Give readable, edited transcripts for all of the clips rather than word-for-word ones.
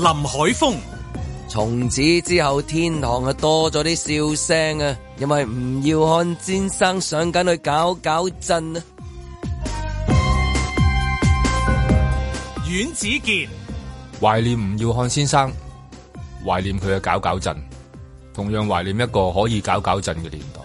林海峰。 從此之後天堂啊多咗啲笑聲啊，因為吳耀漢先生上緊去搞震啊。 阮子健懷念吳耀漢先生，懷念佢嘅搞震，同樣懷念一個可以搞震嘅年代。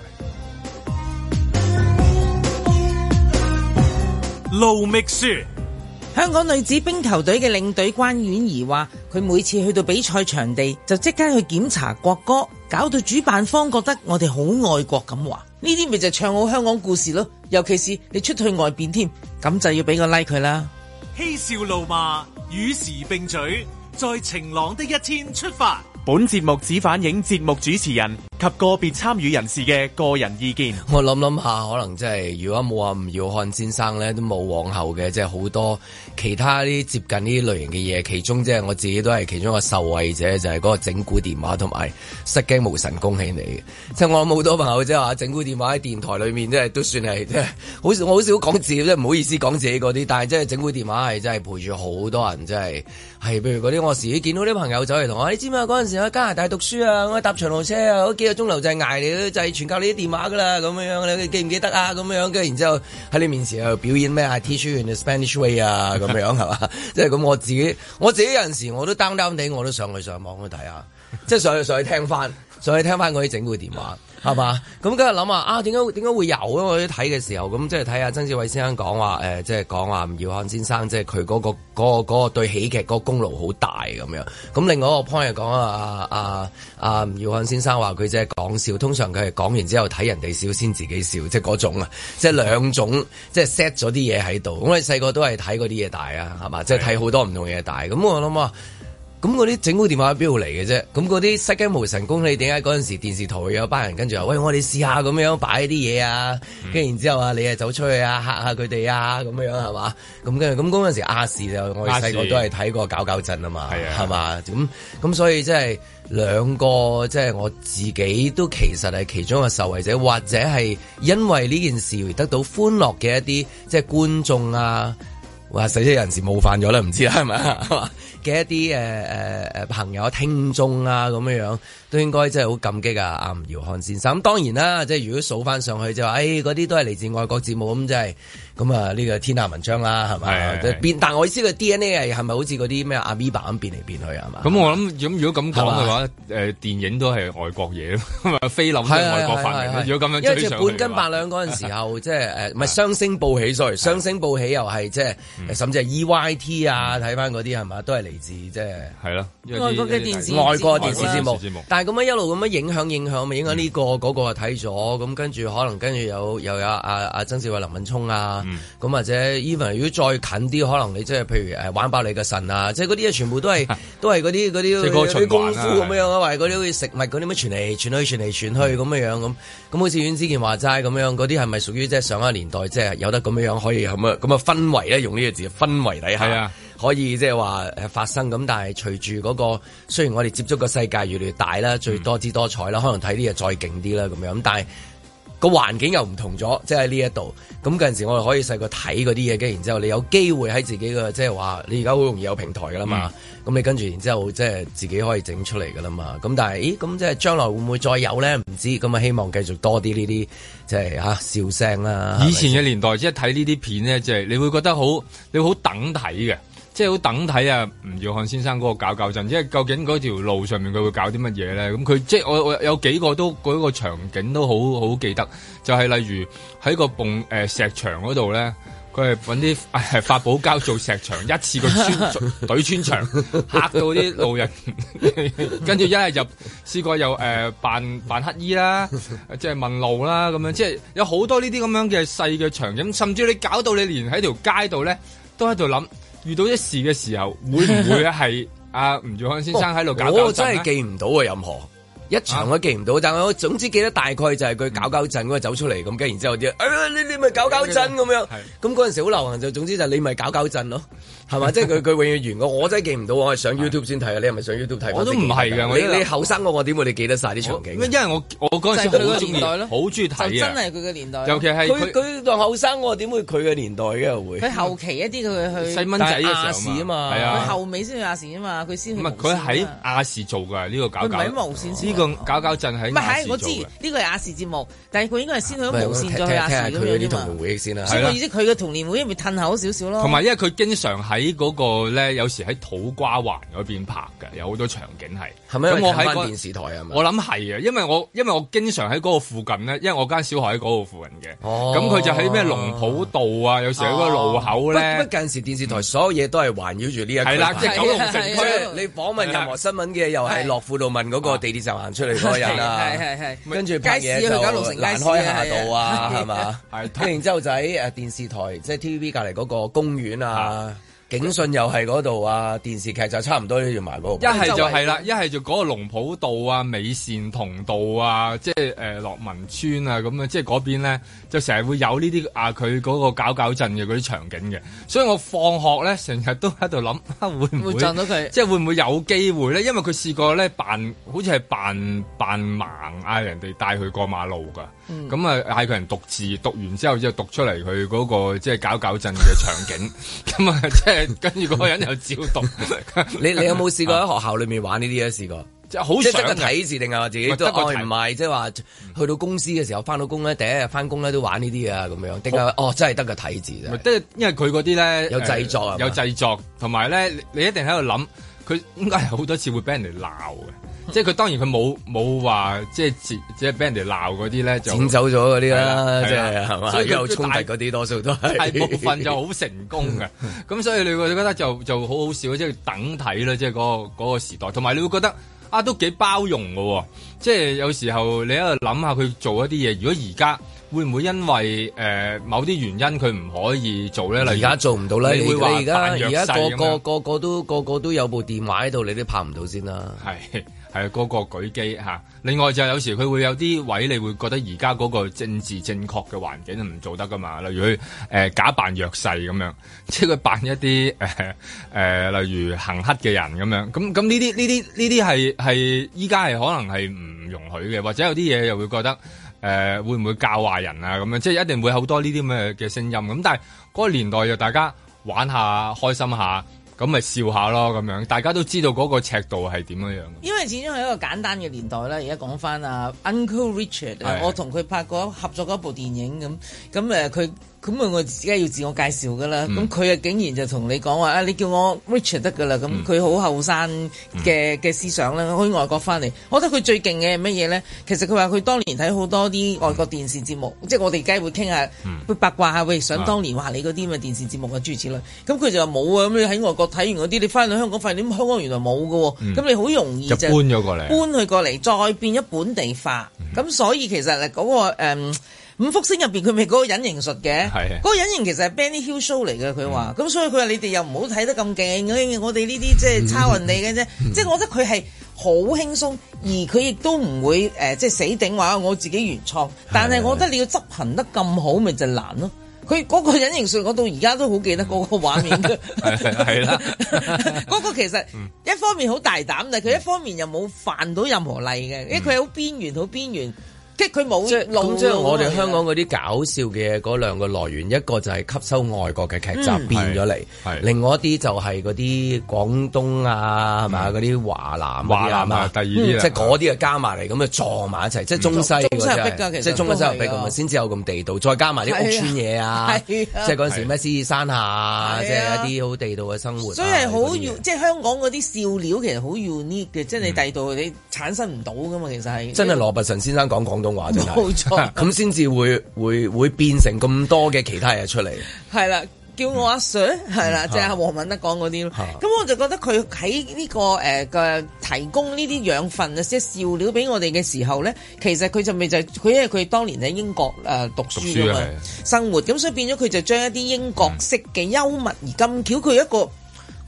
盧覓雪。 香港女子冰球隊嘅領隊關婉儀話，佢每次去到比賽場地就即刻去檢查國歌，搞到主辦方覺得我哋好愛國咁話。呢啲咪就唱好香港故事咯，尤其是你出去外邊添，咁就要俾個 like 佢啦。 嬉笑怒罵與時並舉，在晴朗的一天出發。 本節目只反映節目主持人及個別參與人士嘅個人意見。 我諗下，可能真係如果冇阿吳耀漢先生咧，都冇往後嘅，即係好多其他啲接近呢啲類型嘅嘢。其中即係我自己都係其中一個受惠者，就係嗰個整蠱電話同埋失驚無神恭喜你嘅。即係我諗好多朋友即係話整蠱電話喺電台裏面，即係都算係即係我好少講自己，即係唔好意思講自己嗰啲。但係即係整蠱電話係真係陪住好多人，即係譬如嗰啲我時見到啲朋友走嚟同我，你知唔知啊？嗰陣時喺加拿大讀書啊，我搭長途車啊，嗰幾個鐘頭就係捱你，就係全靠你啲電話噶啦，咁樣你記唔記得啊？咁樣跟住然之後喺你面前又表演咩 I teach you in the Spanish way 啊，咁樣係嘛？即係咁我自己有陣時我都 down 地，我都上網去睇下，即係上去聽翻嗰啲整蠱電話。係嘛？咁跟住諗啊，點解會有？因為我睇嘅時候，咁即係睇下曾志偉先生講話，即係講話吳耀漢先生，即係佢嗰個對喜劇嗰個功勞好大咁樣。咁另外一個 point 係講吳耀漢先生話佢即係講笑，通常佢係講完之後睇人哋笑先自己笑，即係嗰種啊，即係兩種，即係 set 咗啲嘢喺度。咁我哋細個都係睇嗰啲嘢大啊，係嘛？即係睇好多唔同嘢大。咁我諗啊。咁嗰啲整蠱電話喺邊度嚟嘅啫？咁嗰啲失驚無神功，你點解嗰陣時電視台會有班人跟住話，喂，我哋試下咁樣擺啲嘢啊？跟住然之後啊，你啊走出去啊嚇下佢哋啊咁樣係嘛？咁跟住咁嗰陣時亞視就我哋細個都係睇過搞震啊嘛，係嘛？咁所以即係兩個即係我自己都其實係其中一個受惠者，或者係因為呢件事而得到歡樂嘅一啲即係觀眾啊，話死咗人士冒犯咗啦，唔知啦係咪嘅一啲朋友聽眾啊咁樣都應該真係好感激啊阿吳耀漢先生。咁當然啦，即係如果數翻上去就話，嗰啲都係嚟自外國節目咁，即係咁啊呢個天下文章啦，係咪？變，但我意思個 DNA 係咪好似嗰啲咩阿咪爸咁變嚟變去係嘛？咁我諗如果咁講嘅話，電影都係外國嘢咯，菲林都係外國發明。如果咁樣，因為即係半斤八兩嗰陣時候，即係唔係雙星報喜 sorry，雙星報喜又係即係甚至係 EYT 啊，睇翻嗰啲係嘛，都係嚟自即係係咯外國嘅電視外國電視節目。但係咁樣一路咁樣影響咪影響呢個嗰個睇咗，咁跟住可能跟住又有阿曾志偉、林敏聰啊，咁或者 even 如果再近啲，可能你即係譬如玩爆你嘅腎啊，即係嗰啲嘢全部都係嗰啲功夫咁樣啊，或者嗰啲好似食物嗰啲乜傳嚟傳去咁樣咁好似阮之健話齋咁樣，嗰啲係咪屬於即係上一個年代即係有得咁樣可以咁啊氛圍咧？用呢個字氛圍底下可以即係話發生咁，但係隨住嗰個雖然我哋接觸個世界越嚟越大啦，最多姿多彩啦，可能睇啲嘢再勁啲啦咁樣，但係個環境又唔同咗，即係喺呢一度。咁嗰陣時我哋可以細個睇嗰啲嘢，跟住然之後你有機會喺自己嘅即係話，你而家好容易有平台噶啦嘛。咁你跟住然之後即係自己可以整出嚟噶啦嘛。咁但係，咁即係將來會唔會再有咧？唔知。咁啊，希望繼續多啲呢啲即係笑聲啦。以前嘅年代即係睇呢啲片咧，即係你會覺得你會好等睇嘅。即係好等睇啊！吳耀漢先生嗰個搞震，即係究竟嗰條路上面佢會搞啲乜嘢咧？咁佢即係我有幾個都嗰個場景都好記得，就係例如喺個石牆嗰度咧，佢係揾啲發泡膠做石牆，一次過懟穿牆，嚇到啲路人。跟住一日試過又扮乞衣啦，即係問路啦咁樣，即係有好多呢啲咁樣嘅細嘅場景，甚至你搞到你連喺條街度咧都喺度諗。遇到一事嘅時候，會唔會係阿吳耀漢先生喺度搞？我真係記唔到啊， 一場都記唔到，但係我總之記得大概就係佢搞震嗰個走出嚟咁，跟然之後啲你咪搞震咁樣，咁嗰陣時好流行就總之就你咪搞震咯，係嘛？即係佢永遠完我真係記唔到，我係上 YouTube 先睇啊！你係咪上 YouTube 睇？ 我都唔係㗎， 你後生我點會你記得晒啲場景？ 因為我嗰陣時好中意，好中意睇啊！ 真係佢嘅年代， 尤其係佢當後生我點會佢嘅年代嘅會？ 佢後期一啲佢去細蚊仔嘅亞視啊嘛， 係啊， 佢後尾先去亞視啊嘛，佢先去。 唔係佢喺亞視做㗎呢個搞。 佢唔係喺無線先。 呢個搞震喺亞視做嘅。 我知呢個係亞視節目，但係佢應該係先去咗無線再去亞視咁樣㗎嘛。 佢啲童年回憶先啦。 所以我意思佢嘅童年回憶咪褪後少少咯。 同埋因為佢經常喺嗰個咧，有時喺土瓜灣嗰邊拍嘅，有好多場景係。 係咪？ 咁我喺電視台啊嘛。 我諗係啊，因為我經常喺嗰個附近咧，因為我間小學喺嗰個附近嘅。 哦。 咁佢就喺咩龍浦道啊，有時喺嗰個路口咧。 不近時電視台所有嘢都係環繞住呢一區。 係啦，即係九龍城區。 你訪問任何新聞嘅，又係樂富度問嗰個地鐵站行出嚟嗰個人啊。 係。 跟住拍嘢就蘭開夏道啊，係嘛？係。跟然之後就喺電視台，即係 TVB 隔離嗰個公園啊。警訊又係嗰度啊，電視劇就差唔多都要埋嗰個。 一係就係啦，一係就嗰個龍浦道啊、美善同道啊，即係樂民村啊咁樣，即係嗰邊咧就成日會有呢啲佢嗰個搞震嘅嗰啲場景嘅，所以我放學咧成日都喺度諗，會唔會撞到佢？即係會唔會有機會咧？因為佢試過咧好似係扮盲嗌人哋帶佢過馬路㗎。咁啊嗌佢人讀字，讀完之後就讀出嚟佢嗰個即係搞震嘅場景，咁啊即係跟住嗰個人又照讀。 你有冇試過喺學校裏面玩呢啲啊？試過即係好想睇字定係話自己都唔係，即係話去到公司嘅時候翻到工咧，第一日翻工咧都玩呢啲啊咁樣，定係真係得個睇字啫？ 因為佢嗰啲咧有製作啊， 有製作，同埋咧你一定喺度諗，佢應該係好多次會俾人哋鬧嘅。即係佢當然佢冇話即係俾人哋鬧嗰啲咧就剪走咗嗰啲啦，即係係嘛？所以有衝突嗰啲多數都係大部分就好成功嘅。咁所以你會覺得就好好笑，即係等睇啦，即係嗰個時代。同埋你會覺得都幾包容嘅，即係有時候你喺度諗下佢做一啲嘢，如果而家會唔會因為某啲原因佢唔可以做咧？例如而家做唔到啦，你會話而家個個都有部電話喺度，你都拍唔到先啦。 係個舉機嚇，另外就有時佢會有啲位，你會覺得而家嗰個政治正確嘅環境唔做得噶嘛？例如佢假扮弱勢咁樣，即係佢扮一啲例如行乞嘅人咁樣，咁呢啲係依家係可能係唔容許嘅，或者有啲嘢又會覺得會唔會教壞人啊咁樣，即係一定會好多呢啲咁嘅聲音咁，但係嗰個年代就大家玩下開心下。咁咪笑下咯，咁樣大家都知道嗰個尺度係點樣樣。因為始終係一個簡單嘅年代啦。而家講翻Uncle Richard，我同佢拍過合作過一部電影咁佢。咁我自己要自我介紹噶啦，咁佢竟然就同你講話你叫我 Richard 得噶啦，咁佢好後生嘅思想啦，喺外國翻嚟，我覺得佢最勁嘅係乜嘢咧？其實佢話佢當年睇好多啲外國電視節目，即係我哋梗係會傾下，會八卦下，想當年話你嗰啲咁嘅電視節目嘅諸如此類。咁佢就話冇啊，咁你喺外國睇完嗰啲，你翻到香港發現香港原來冇㗎喎，咁你好容易就搬咗過嚟， 搬佢過嚟，再變咗本地化。咁所以其實嗰個五福星入邊佢咪嗰個隱形術嘅，嗰個隱形其實係 Benny Hill show 嚟嘅，佢話，咁所以佢話你哋又唔好睇得咁勁，我哋呢啲即係抄人哋嘅啫，即係我覺得佢係好輕鬆，而佢亦都唔會即係死頂話我自己原創，但係我覺得你要執行得咁好，咪就難咯。佢嗰個隱形術，我到而家都好記得嗰個畫面嘅， 係啦， 嗰個其實一方面好大膽，但係佢一方面又冇犯到任何例嘅，因為佢好邊緣，好邊緣。即係佢冇路， 即係我哋香港嗰啲搞笑嘅嗰兩個來源，一個就係吸收外國嘅劇集變咗嚟，另外一啲就係嗰啲廣東啊，係咪嗰啲華南啊， 第二啲即係嗰啲啊加埋嚟咁啊撞埋一齊，即係中西嗰啲，即係中西合璧咁啊，先至有咁地道，再加埋啲屋村嘢啊，即係嗰陣時咩獅子山下，即係一啲好地道嘅生活。 所以係好即係香港嗰啲笑料其實好 unique 嘅，即係你第度你產生唔到噶嘛，其實係真係羅拔臣先生講廣東話真係冇錯， 咁先至會變成咁多嘅其他嘢出嚟。 係啦，叫我阿 Sir 係啦，即係阿黃敏德講嗰啲咯。咁我就覺得佢喺呢個嘅提供呢啲養分啊，即係笑料俾我哋嘅時候咧，其實佢就咪就係佢因為佢當年喺英國讀書㗎嘛，生活咁，所以變咗佢就將一啲英國式嘅幽默而咁巧，佢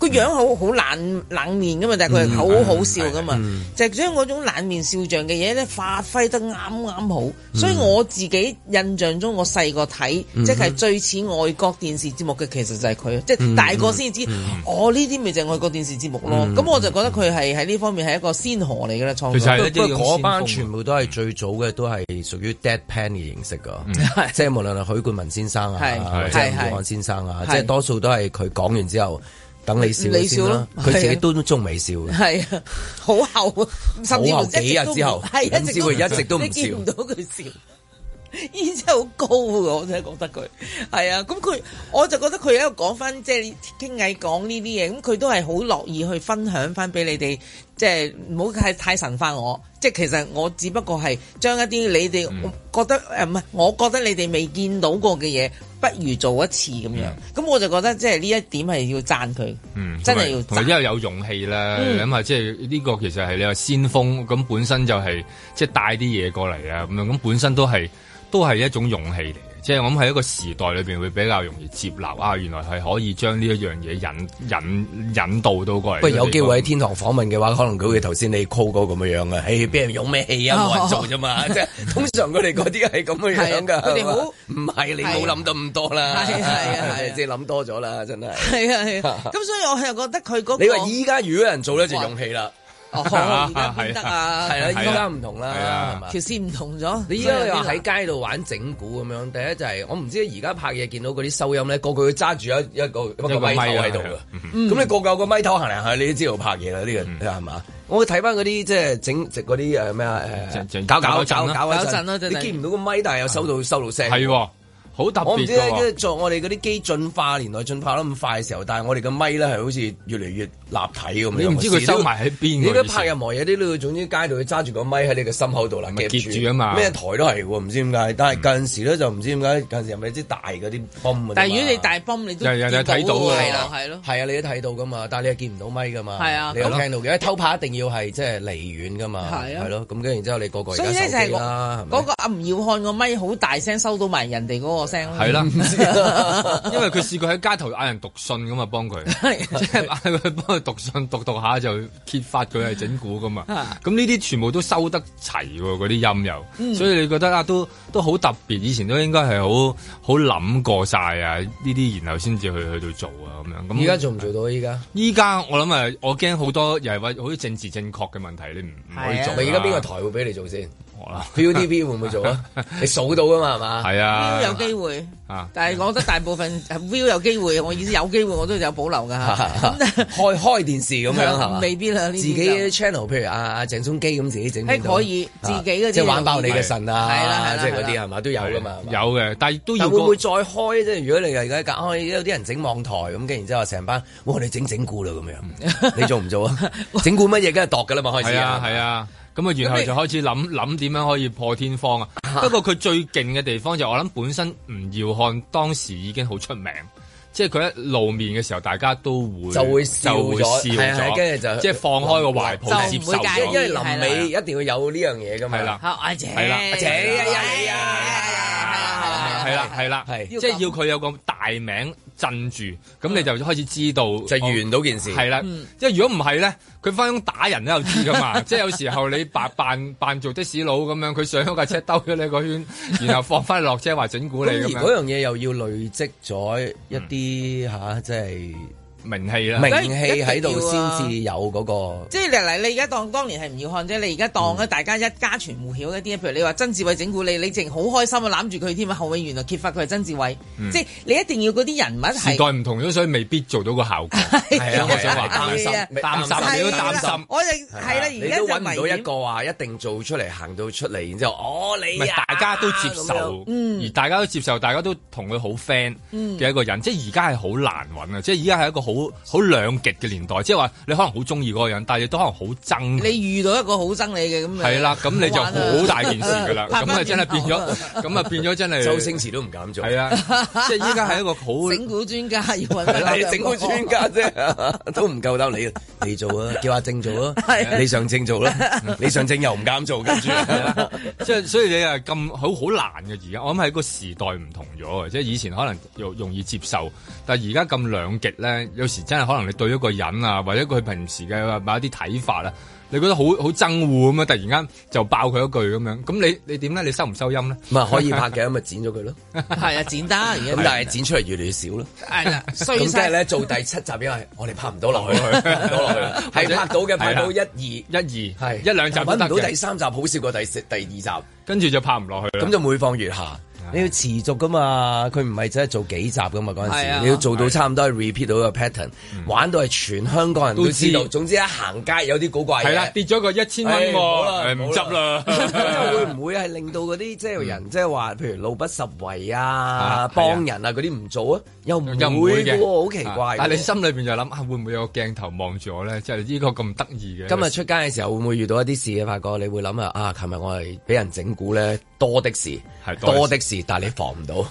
個樣好冷面噶嘛，但係佢係好好笑噶嘛，就係將嗰種冷面笑匠嘅嘢咧發揮得啱好。所以我自己印象中，我細個睇即係最似外國電視節目嘅，其實就係佢，即係大個先知，呢啲咪就係外國電視節目咯。咁我就覺得佢係喺呢方面係一個先河嚟嘅啦，創作。 不過嗰班全部都係最早嘅，都係屬於 deadpan 嘅形式噶，即係無論係許冠文先生啊，或者吳耀漢先生啊，即係多數都係佢講完之後等你笑先啦，佢自己都仲未笑嘅，係啊，好後，甚至乎幾日之後，甚至乎一直都唔笑，你見唔到佢笑。依真係好高㗎，我真係覺得佢係啊，咁我就覺得佢喺度講翻，即係傾偈講呢啲嘢，咁佢都係好樂意去分享翻俾你哋，即係唔好太神化我，即係其實我只不過係將一啲你哋覺得唔係，我覺得你哋未見到過嘅嘢，不如做一次咁樣，咁我就覺得即係呢一點係要讚佢，真係要讚，同埋因為有勇氣啦，咁啊，即係呢個其實係你話先鋒，咁本身就係即係帶啲嘢過嚟啊，咁樣咁本身都係一種勇氣嚟嘅，即係我諗喺一個時代裏邊會比較容易接納啊，原來係可以將呢一樣嘢引導到過嚟。不過有機會喺天堂訪問嘅話，可能佢會頭先你 call 嗰咁樣嘅，誒俾人用咩氣啊，冇人做啫嘛，即係通常佢哋嗰啲係咁嘅樣㗎。佢哋好唔係你冇諗到咁多啦，係即係諗多咗啦，真係。係啊，咁所以我係覺得佢嗰個你話依家如果有人做咧就勇氣啦。哦，而家變得啊，係啦，依家唔同啦，係嘛？條線唔同咗。你依家又喺街度玩整蠱咁樣，第一就係我唔知而家拍嘢見到嗰啲收音咧，個個揸住一個咪頭喺度嘅。咁你個個個咪頭行嚟行去，你都知道拍嘢啦。呢個係嘛？我會睇翻嗰啲即係整直嗰啲咩啊搞一陣啦，你見唔到個咪，但係又收到聲。係。好特別，我唔知咧，即係做我哋嗰啲機進化年代進化得咁快嘅時候，但係我哋嘅咪咧係好似越嚟越立體咁。你唔知佢收埋喺邊？你都拍任何嘢，啲都要總之街度要揸住個咪喺你嘅心口度啦，夾住啊嘛。咩台都係喎，唔知點解。但係近時咧就唔知點解，近時係咪啲大嗰啲泵？但係如果你大泵，你都睇到㗎。係咯，係啊，你都睇到㗎嘛。但係你又見唔到咪㗎嘛。係啊，你有聽到嘅。偷拍一定要係即係離遠㗎嘛。係啊，係咯。咁跟住然之後，你個個而家手機啦，嗰個阿吳耀漢個咪好大聲，收到埋人哋嗰個。係啦，因為佢試過喺街頭嗌人讀信咁啊，幫佢，即係嗌佢幫佢讀信，讀下就揭發佢係整蠱噶嘛。咁呢啲全部都收得齊喎，嗰啲音又，所以你覺得啊，都好特別。以前都應該係好諗過晒啊呢啲，然後先至去到做啊咁樣。咁依家做唔做到？依家我諗啊，我驚好多又係話好似政治正確嘅問題，你唔可以做。而家邊個台會俾你做先？ViuTV 會唔會做啊？你數到噶嘛，係嘛？係啊，有機會啊！但係我覺得大部分 Viu 有機會，我意思有機會我都有保留噶嚇。開電視咁樣係嘛？未必啦，自己 channel， 譬如阿鄭中基咁自己整，可以自己嗰啲，即係玩爆你嘅腎啊！係啦，即係嗰啲係嘛都有噶嘛。有嘅，但係都要。會唔會再開？即係如果你而家隔開，有啲人整網台咁，跟然之後成班，哇！你整蠱啦咁樣，你做唔做啊？整蠱乜嘢？梗係度㗎啦嘛，開始係啊。咁啊，然後就開始諗點樣可以破天荒啊！不過佢最勁嘅地方就我諗本身吳耀漢當時已經好出名，即係佢一露面嘅時候，大家都會笑咗，跟住就即係放開個懷抱接受咗，因為臨尾一定要有呢樣嘢㗎嘛。係啦，阿姐，阿姐係啦，即係要佢有個大名鎮住，咁你就開始知道就完到件事。係啦，即係如果唔係咧，佢翻工打人都有知噶嘛。即係有時候你扮做的士佬咁樣，佢上咗架車兜咗你個圈，然後放翻落車話整蠱你咁樣。嗰樣嘢又要累積咗一啲即係。名氣啦，名氣喺度先至有嗰個。即係嚟你而家當年係吳耀漢啫，你而家當大家一家傳戶曉一啲，譬如你話曾志偉整蠱你淨好開心啊，攬住佢添啊，後尾原來揭發佢係曾志偉，即係你一定要嗰啲人物係時代唔同咗，所以未必做到個效果。係啊，我想話擔心，你都擔心。我哋係啦，而家都揾唔到一個話一定做出嚟行到出嚟，然之後你大家都接受，而大家都接受，大家都同佢好 friend 嘅一個人，即係而家係好難揾啊！即係而家係一個好兩極嘅年代，即係話你可能好中意嗰個人，但係你都可能好憎。你遇到一個好憎你嘅咁，係啦，咁你就好大件事噶啦。咁啊真係變咗，咁啊變咗真係。周星馳都唔敢做。係啊，即係依家係一個好整蠱專家要揾佢。整蠱專家啫，都唔夠膽你做啊，叫阿正做啊，你上正做啦，你上正又唔敢做，跟住即係所以你係咁好難嘅。而家我諗係個時代唔同咗啊，即係以前可能容易接受，但係而家咁兩極咧。 有時真係可能你對一個人啊，或者佢平時嘅某一啲睇法啊。你覺得好憎惡咁啊！突然間就爆佢一句咁樣，咁你點咧？你收唔收音咧？ 唔係可以拍嘅，咁咪剪咗佢咯。 係啊，剪得而家。 咁但係剪出嚟越嚟越少咯。 係啦， 咁即係咧做第7集，因為我哋拍唔到落去，係拍到嘅，拍到1、2 係1、2集揾唔到第3集，好笑過第2集， 跟住就拍唔落去啦。 咁就每況愈下。你要持續噶嘛？佢唔係真係做幾集噶嘛？嗰陣時你要做到差唔多係 repeat 到個 pattern，玩到係全香港人都知道。總之一行街有啲古怪嘢，係啦， 跌咗個1000蚊喎，唔執啦。 會唔會係令到嗰啲即係人即係話，譬如路不拾遺啊、幫人啊嗰啲唔做啊？又唔會嘅喎，好奇怪。 但係你心裏邊就諗會唔會有個鏡頭望住我咧？即係呢個咁得意嘅。 今日出街嘅時候會唔會遇到一啲事嘅？發覺你會諗啊，琴日我係俾人整蠱咧，多的是，多的是。但係你防唔到。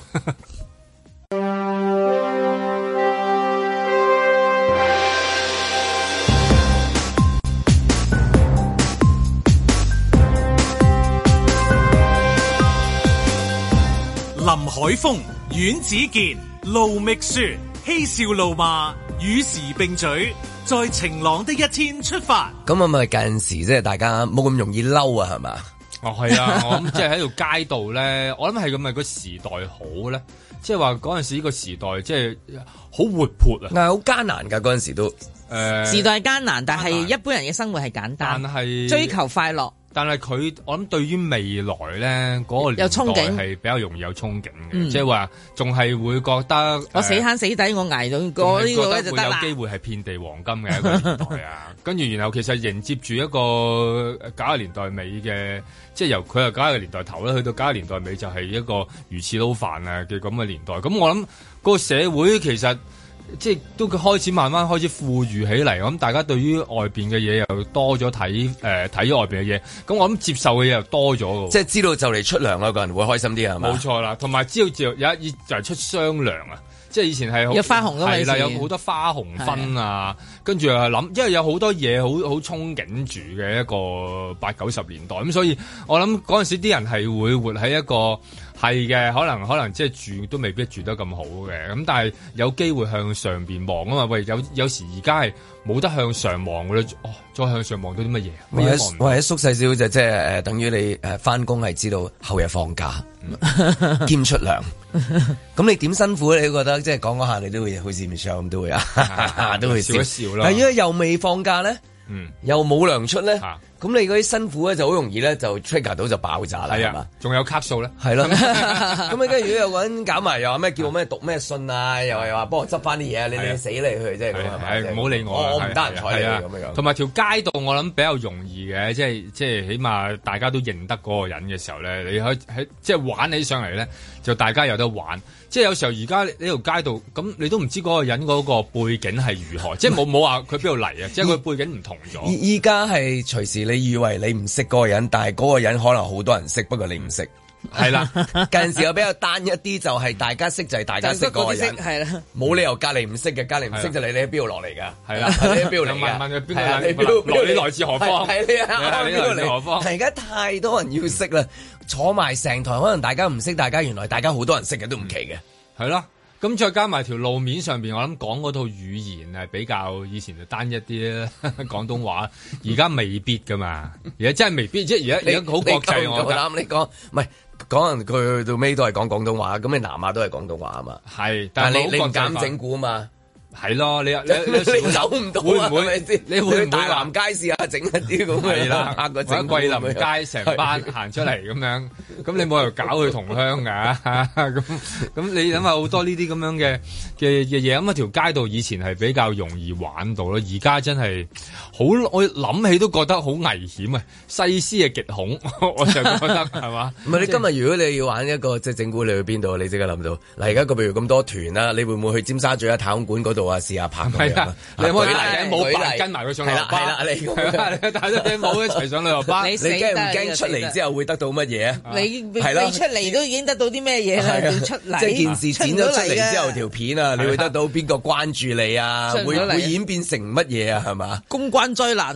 林海峰、阮子健、盧覓雪，嬉笑怒罵，與時並舉，在晴朗的一天出發。 咁啊，咪近時即係大家冇咁容易嬲啊，係嘛？ 哦，係啊，我諗即係喺條街度咧，我諗係咁咪個時代好咧，即係話嗰陣時呢個時代即係好活潑啊， 但係好艱難㗎嗰陣時都， 時代艱難，但係一般人嘅生活係簡單，但係追求快樂。 但係佢，我諗對於未來咧嗰個年代係比較容易有憧憬嘅，即係話仲係會覺得我死慳死抵，我捱到過呢個咧就得啦。 會有機會係遍地黃金嘅一個年代啊！跟住然後其實迎接住一個90年代尾嘅，即係由佢係90年代頭咧，去到90年代尾就係一個魚翅撈飯啊嘅咁嘅年代。咁我諗個社會其實。即係都開始慢慢開始富裕起嚟，咁大家對於外邊嘅嘢又多咗睇咗外邊嘅嘢，咁我諗接受嘅嘢又多咗嘅。 即係知道就嚟出糧啦，個人會開心啲係嘛？ 冇錯啦，同埋知道就有一就係出雙糧啊！即係以前係有花紅㗎嘛， 係啦，有好多花紅分啊，跟住又係諗，因為有好多嘢好憧憬住嘅一個80、90年代，咁所以我諗嗰陣時啲人係會活喺一個。係嘅，可能即係住都未必住得咁好嘅，咁但係有機會向上邊望啊嘛。喂，有時而家係冇得向上望嘅咧，再向上望到啲乜嘢？ 或者縮細少就即係等於你翻工係知道後日放假兼出糧，咁你點辛苦咧？你覺得即係講下你都會好似唔上咁都會啊，都會笑一笑啦。係因為又未放假咧，又冇糧出咧。咁你嗰啲辛苦咧就好容易咧就 trigger 到就爆炸啦，係嘛？ 仲有卡數咧， 係咯。咁你跟住如果有個人搞埋又話咩叫我咩讀咩信啊，又話幫我執翻啲嘢，你死你去，即係咁係咪？ 唔好理我， 我唔得閒睬你咁樣。 同埋條街道我諗比較容易嘅，即係起碼大家都認得嗰個人嘅時候咧，你可以喺即係玩起上嚟咧，就大家有得玩。即係有時候而家呢條街道咁，你都唔知嗰個人嗰個背景係如何，即係冇話佢邊度嚟啊，即係佢背景唔同咗。依家係隨時你以為你唔識嗰個人，但係嗰個人可能好多人識，不過你唔識。係啦，近時又比較單一啲，就係大家識就係大家識嗰個人，係啦，冇理由隔離唔識嘅，隔離唔識就你喺邊度落嚟㗎？係啦，你喺邊度嚟㗎？問佢邊個？你來自何方？係你啊，邊度嚟何方？而家太多人要識啦，坐埋成台，可能大家唔識，大家原來大家好多人識嘅都唔奇嘅，係啦。 咁再加埋條路面上邊，我諗講嗰套語言係比較以前就單一啲啦，廣東話，而家未必噶嘛，而家真係未必，即係而家好國際。我啱你講，唔係講人佢到尾都係講廣東話，咁你南亞都係廣東話啊嘛。 係， 但係你唔敢整蠱啊嘛。 係咯，你走唔到啊？會唔會？你會唔會大南街試下整一啲咁嘅？係啦，或者桂林街成班行出嚟咁樣，咁你冇理由搞佢同鄉㗎。咁你諗下好多呢啲咁樣嘅嘢，咁啊條街道以前係比較容易玩到咯，而家真係好，我諗起都覺得好危險啊！細思嘅極恐，我就覺得係嘛？唔係你今日如果你要玩一個即係整蠱，你去邊度？你即刻諗到嗱，而家個譬如咁多團啦，你會唔會去尖沙咀啊太空館嗰度？試下拍咁樣，你有冇舉例？冇扮跟埋佢上旅遊巴，係啦，你帶咗頂帽一齊上旅遊巴，你驚唔驚出嚟之後會得到乜嘢啊？你出嚟都已經得到啲咩嘢啦？出嚟即係件事剪咗出嚟之後條片啊，你會得到邊個關注你啊？會演變成乜嘢啊？係嘛？ 公關災難咯。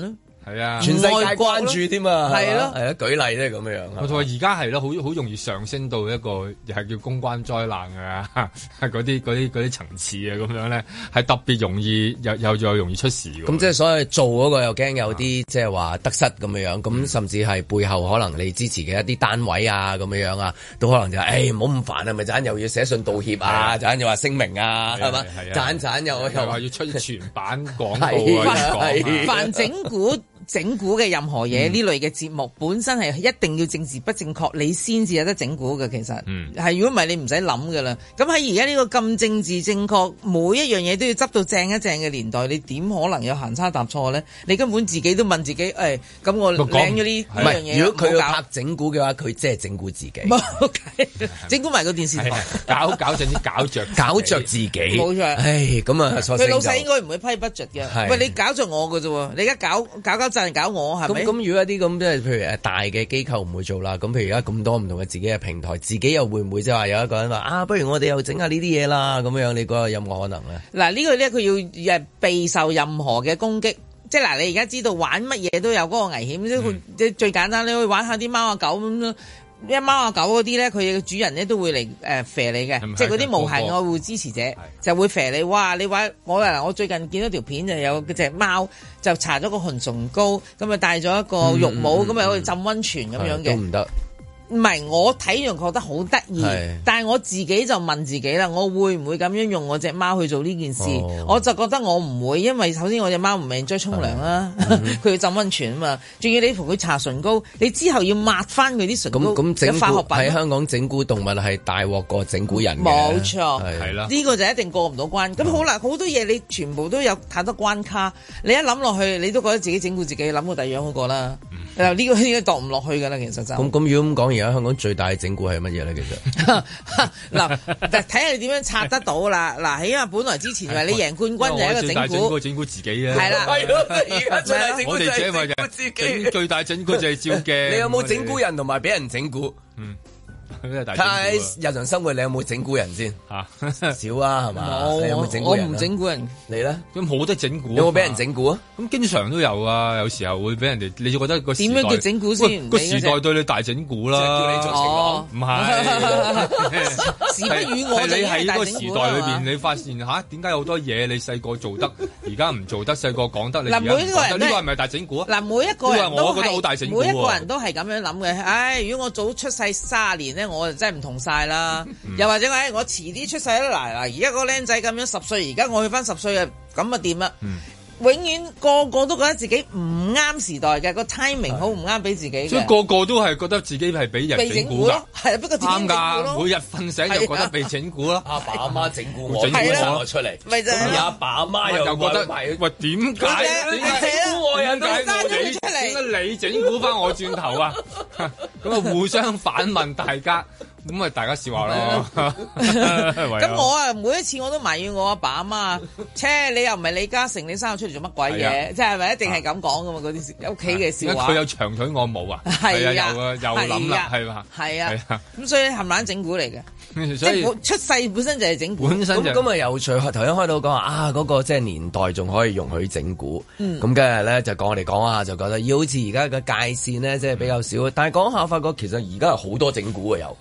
係啊， 全世界關注添啊， 係咯， 係啊，舉例咧咁樣樣。 我同話而家係咯，好容易上升到一個又係叫公關災難啊，嗰啲層次啊，咁樣咧係特別容易又容易出事嘅。 咁即係所以做嗰個又驚有啲即係話得失咁樣樣，咁甚至係背後可能你支持嘅一啲單位啊咁樣樣啊，都可能就唔好咁煩啊，咪陣又要寫信道歉啊，陣又話聲明啊，係嘛，陣又話要出全版廣告啊， 反整蠱嘅任何嘢呢類嘅節目本身係一定要政治不正確，你先至有得整蠱嘅。其實係如果唔係你唔使諗噶啦。咁喺而家呢個咁政治正確，每一樣嘢都要執到正一正嘅年代，你點可能有行差踏錯咧？你根本自己都問自己，咁我領咗呢樣嘢。 如果佢要拍整蠱嘅話，佢即係整蠱自己， 整蠱埋個電視台， 搞正啲搞着自己， 冇錯。 咁啊， 佢老細應該唔會批 budget 嘅。喂，你搞着我嘅啫喎，你而家搞搞我係咪？咁如果一啲咁即係譬如大嘅機構唔會做啦，咁譬如而家咁多唔同嘅自己嘅平台，自己又會唔會即係話有一個人話不如我哋又整下呢啲嘢啦咁樣？你覺得有冇可能咧？嗱，呢個咧佢要備受任何嘅攻擊，即係嗱，你而家知道玩乜嘢都有嗰個危險，即係最簡單，你可以玩下啲貓啊狗咁咯。一貓啊狗嗰啲咧，佢嘅主人咧都會嚟肥你嘅，即係嗰啲無限愛護支持者就會肥你。哇！你話我最近見到條片就有隻貓就搽咗個紅唇膏，咁啊戴咗一個浴帽，咁啊好似浸溫泉咁樣嘅。都唔得。唔係，我睇完覺得好得意，但係我自己就問自己啦，我會唔會咁樣用我隻貓去做呢件事？我就覺得我唔會，因為首先我隻貓唔係中意沖涼啦，佢要浸溫泉啊嘛，仲要你同佢搽唇膏，你之後要抹翻佢啲唇膏， 咁化學品喺香港整蠱動物係大鑊過整蠱人嘅， 冇錯， 係啦， 呢個就一定過唔到關。咁好啦，好多嘢你全部都有太多關卡，你一諗落去，你都覺得自己整蠱自己，諗過第二樣好過啦。呢個應該度唔落去㗎啦，其實就咁如果咁講，而家香港最大嘅整蠱係乜嘢咧？其實嗱，睇下你點樣拆得到啦。嗱，起碼本來之前話你贏冠軍就係一個整蠱， 整蠱自己啊。 係啦， 而家最大整蠱就係整蠱自己。 最大整蠱就係照鏡。 你有冇整蠱人同埋俾人整蠱？喺日常生活你有冇整蠱人先？少啊，係嘛？你有冇整蠱人？ 我唔整蠱人， 你咧？ 咁冇得整蠱。 有冇俾人整蠱啊？咁經常都有啊，有時候會俾人哋，你就覺得個時代點樣叫整蠱先？ 個時代對你大整蠱啦， 叫你做情郎， 唔係。 時不與我， 你喺個時代裏邊，你發現點解有好多嘢你細個做得，而家唔做得，細個講得，你而家唔講得，呢個係咪大整蠱啊？ 嗱，每一個人都係，每一個人都係咁樣諗嘅。如果我早出世30年咧，我就真係唔同晒啦。又或者我遲啲出世啦，嗱，而家個僆仔咁樣10歲，而家我去翻10歲啊，咁啊掂啦。永遠個個都覺得自己唔啱時代嘅，個 timing 好唔啱俾自己， 所以個個都係覺得自己係俾人整蠱咯， 係不過啱㗎，每日瞓醒就覺得被整蠱咯。 阿爸阿媽整蠱我，整蠱我出嚟， 咪就係阿爸阿媽又覺得喂，點解你整蠱我？點解你整蠱翻我轉頭啊？咁啊，互相反問大家。咁咪大家笑話咯。 咁我每一次我都埋怨我阿爸阿媽，你又唔係李嘉誠，你生我出嚟做乜鬼嘢？即係咪一定係咁講噶嘛？嗰啲屋企嘅笑話。 佢有長腿我冇啊。係啊，又諗啦，係嘛？ 係啊。咁所以冚唪唥整蠱嚟嘅。所以出世本身就係整蠱。 本身咁啊有趣。頭先開到講話嗰個即係年代仲可以容許整蠱。咁今日咧就講我哋講下就覺得要好似而家嘅界線咧即係比較少。但係講下發覺其實而家係好多整蠱啊有。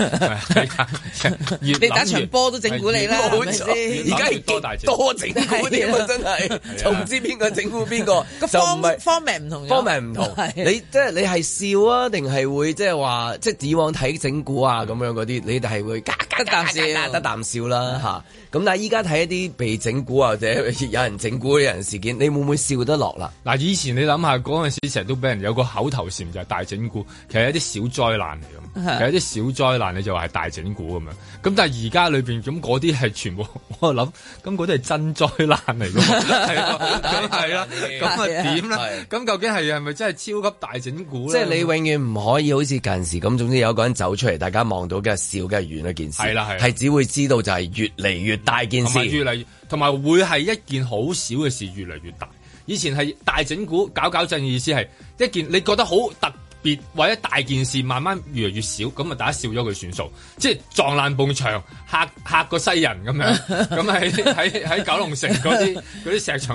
你打場波都整蠱你啦，係咪先？ 而家係多整蠱添啊，真係就唔知邊個整蠱邊個，就唔係方面唔同， 方面唔同。你即係你係笑啊，定係會即係話即係以往睇整蠱啊咁樣嗰啲，你哋係會得啖笑啦嚇。咁但係依家睇一啲被整蠱或者有人整蠱嘅人事件，你會唔會笑得落啦？ 嗱，以前你諗下嗰陣時，成日都俾人有個口頭禪就係大整蠱，其實係一啲小災難嚟咁。其實一啲小災難你就話係大整蠱咁樣，咁但係而家裏邊咁嗰啲係全部我諗，咁嗰啲係真災難嚟㗎，係啦，咁啊點咧？咁究竟係咪真係超級大整蠱咧？ 即係你永遠唔可以好似近時咁，總之有一個人走出嚟，大家望到嘅笑嘅係完一件事，係只會知道就係越嚟越大件事， 越嚟同埋會係一件好小嘅事越嚟越大。以前係大整蠱搞震嘅意思係一件你覺得好特別或者大件事，慢慢越嚟越少，咁啊大家笑咗佢算數，即係撞爛埲牆嚇個西人咁樣，咁喺九龍城嗰啲石牆嗰度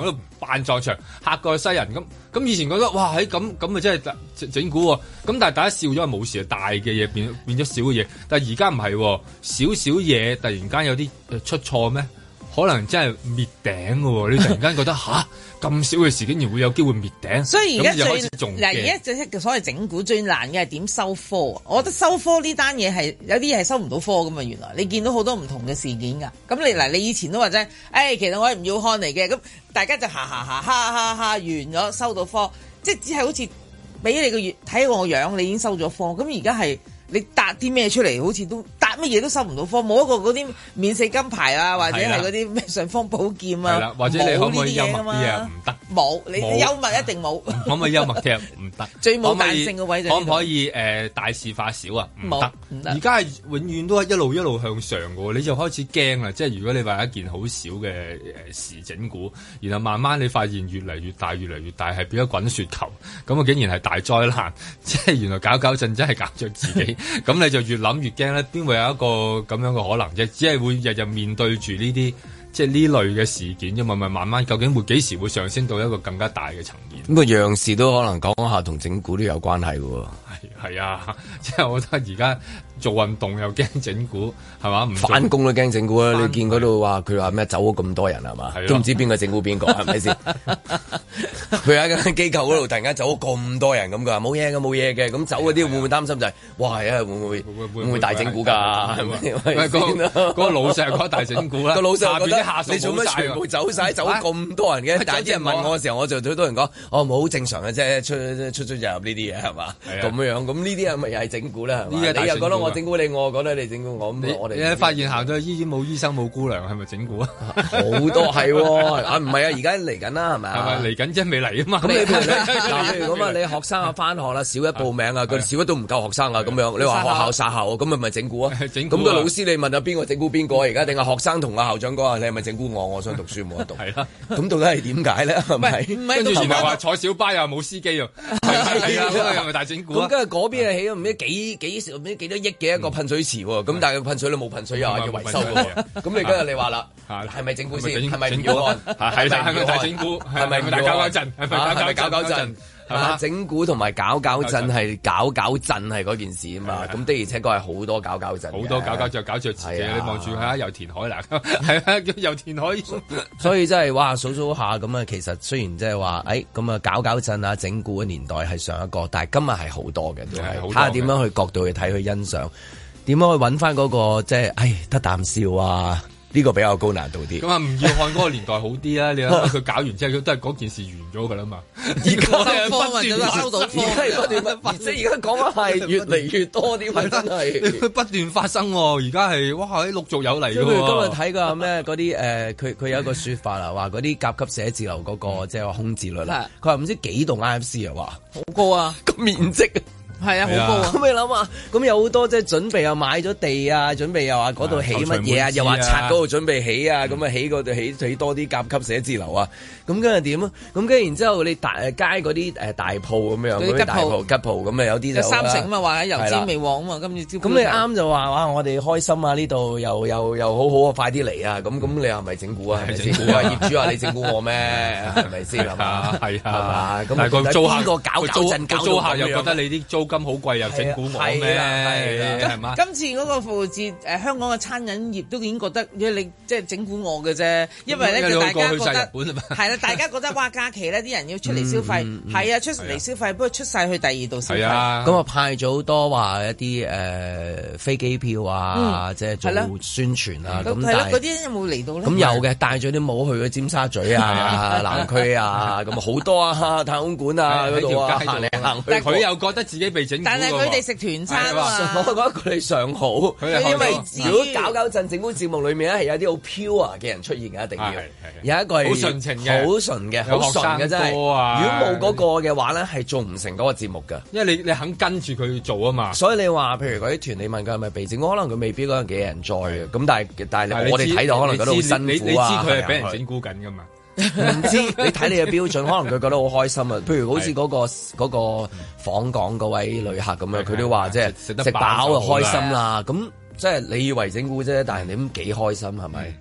扮撞牆嚇過西人咁以前覺得哇咁啊真係整蠱喎，咁但係大家笑咗係冇事，大嘅嘢變咗小嘅嘢，但係而家唔係少少嘢突然間有啲出錯咩？可能真係滅頂嘅喎，你突然間覺得吓咁少嘅事竟然會有機會滅頂， 所以而家而家最所謂整蠱最難嘅係點收科啊？我覺得收科呢單嘢係有啲嘢係收唔到科㗎嘛，原來你見到好多唔同嘅事件㗎。咁你以前都話啫，其實我係唔要看嚟嘅，咁大家就哈完咗收到科，即係只係好似俾你個月睇我樣，你已經收咗科。咁而家係。你答啲咩出嚟，好似都答乜嘢都收唔到科，冇一個嗰啲免死金牌啊，或者係嗰啲咩尚方寶劍啊， 或者你可唔可以幽默啲啊？唔得， 冇你幽默一定冇。 可唔可以幽默啲啊？唔得。 最冇彈性嘅位就可唔可以大事化小啊？唔得。而家係永遠都係一路向上嘅喎，你就開始驚啦。即係如果你話一件好少嘅事整蠱，然後慢慢你發現越嚟越大，係變咗滾雪球，咁啊竟然係大災難。即係原來搞震真係搞著自己。咁你就越諗越驚咧，邊會有一個咁樣嘅可能啫？只係會日日面對住呢啲即係呢類嘅事件啫嘛，咪慢慢究竟會幾時會上升到一個更加大嘅層面？ 咁個樣事都可能講下同整蠱都有關係嘅喎。 係啊，即係我覺得而家做運動又驚整蠱，係嘛？唔返工都驚整蠱啊！你見嗰度話佢話咩走咗咁多人係嘛？都唔知邊個整蠱邊個係咪先？佢喺間機構嗰度突然間走咗咁多人咁，佢話冇嘢嘅，咁走嗰啲會唔會擔心就係哇係啊會唔會大整蠱㗎？係咪？ 嗰個老細嗰個大整蠱啦， 個老細覺得下屬你做乜全部走晒走咁多人嘅？但係啲人問我嘅時候，我就好多人講冇好正常嘅啫，出入呢啲嘢係嘛？咁樣咁呢啲係咪又係整蠱咧？你又覺得我整蠱你，我覺得你整蠱我，咁我哋發現行到醫院冇醫生冇姑娘，係咪整蠱啊？ 好多係喎，唔係啊，而家嚟緊啦，係咪？ 係咪嚟緊啫？未嚟啊嘛？ 咁你譬如咁啊，你學生啊返學啦，小一報名啊，佢小一都唔夠學生啊，咁樣你話學校殺校，咁咪整蠱啊？咁個老師你問下邊個整蠱邊個而家？定係學生同阿校長講啊？你係咪整蠱我？我想讀書冇得讀。係啦，咁到底係點解咧？係咪？ 跟住然後話坐小巴又冇司機啊？係啊，係咪大整蠱？ 咁跟住嗰邊係起咗唔知幾多億嘅一個噴水池喎，咁但係個噴水都冇噴水又話要維修嘅，咁你今日你話啦，係咪整蠱先？係咪要按？係咪大整蠱？係咪大搞震？係咪搞震？整蠱同埋搞震係搞震係嗰件事啊嘛，咁的而且確係好多搞震， 好多搞著自己，你望住下油田海啦，係啊，油田海， 所以真係哇數下咁啊，其實雖然即係話咁啊搞震啊整蠱嘅年代係上一個，但係今日係好多嘅，都係睇下點樣去角度去睇去欣賞，點樣去揾翻嗰個即係得啖笑啊！呢個比較高難度啲。咁吳耀漢嗰個年代好啲啊！你諗下佢搞完之後，都係嗰件事完咗㗎啦嘛。 而家收到科， 即係而家講係越嚟越多啲，真係不斷發生喎。而家係哇，陸續有嚟㗎喎。 今日睇過咩嗰啲佢有一個説法啦，話嗰啲甲級寫字樓嗰個即係話空置率啦。佢話唔知幾棟 IFC 啊，話好高啊， 個面積。 係啊，好高啊！ 咁你諗下，咁有好多即係準備又買咗地啊，準備又話嗰度起乜嘢啊，又話拆嗰度準備起啊，咁啊起嗰度起多啲甲級寫字樓啊，咁跟住點啊？咁跟住然之後你街嗰啲大鋪咁樣，嗰啲吉鋪咁啊有啲就三成啊嘛，話喺油尖未旺啊嘛，今次咁你啱就話哇，我哋開心啊，呢度又好好啊，快啲嚟啊！咁你係咪整蠱啊？係咪整蠱啊？業主話你整蠱我咩？係咪先係嘛？ 係啊， 咁但係個租客搞租客又覺得你啲租金好貴又整蠱我咩？係嘛？ 今次嗰個復活節香港嘅餐飲業都已經覺得你即係整蠱我嘅啫，因為咧大家覺得係啦，大家覺得哇假期咧啲人要出嚟消費，係啊出嚟消費，不過出晒去第二度消費。 咁啊派咗好多話一啲飛機票啊，即係做宣傳啊。咁係咯，嗰啲有冇嚟到咧？ 咁有嘅，帶咗啲帽去咗尖沙咀啊、南區啊，咁好多啊，太空館啊嗰度啊行嚟行去。 佢又覺得自己被整蠱， 但係佢哋食團餐啊， 我覺得佢哋尚好，因為如果搞震整蠱節目裏面咧係有啲好 pure 嘅人出現嘅，一定要有一個係好純情嘅、 好純嘅、好純嘅真係。如果冇嗰個嘅話咧，係做唔成嗰個節目㗎。 因為你肯跟住佢做啊嘛。 所以你話譬如嗰啲團，你問佢係咪被整蠱，可能佢未必嗰陣幾人在嘅。咁但係我哋睇到可能覺得好辛苦啊。 你知佢係俾人整蠱緊㗎嘛？ 唔知你睇你嘅標準，可能佢覺得好開心啊！譬如好似嗰個訪港嗰位旅客咁樣，佢都話即係食飽就開心啦。咁即係你以為整蠱啫，但係你咁幾開心係咪？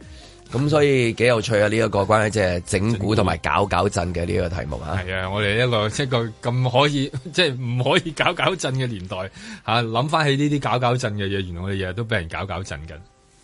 咁所以幾有趣啊！呢一個關於即係整蠱同埋搞震嘅呢個題目啊。 係啊，我哋一個咁可以即係唔可以搞震嘅年代嚇，諗翻起呢啲搞震嘅嘢，原來我哋日日都俾人搞震緊。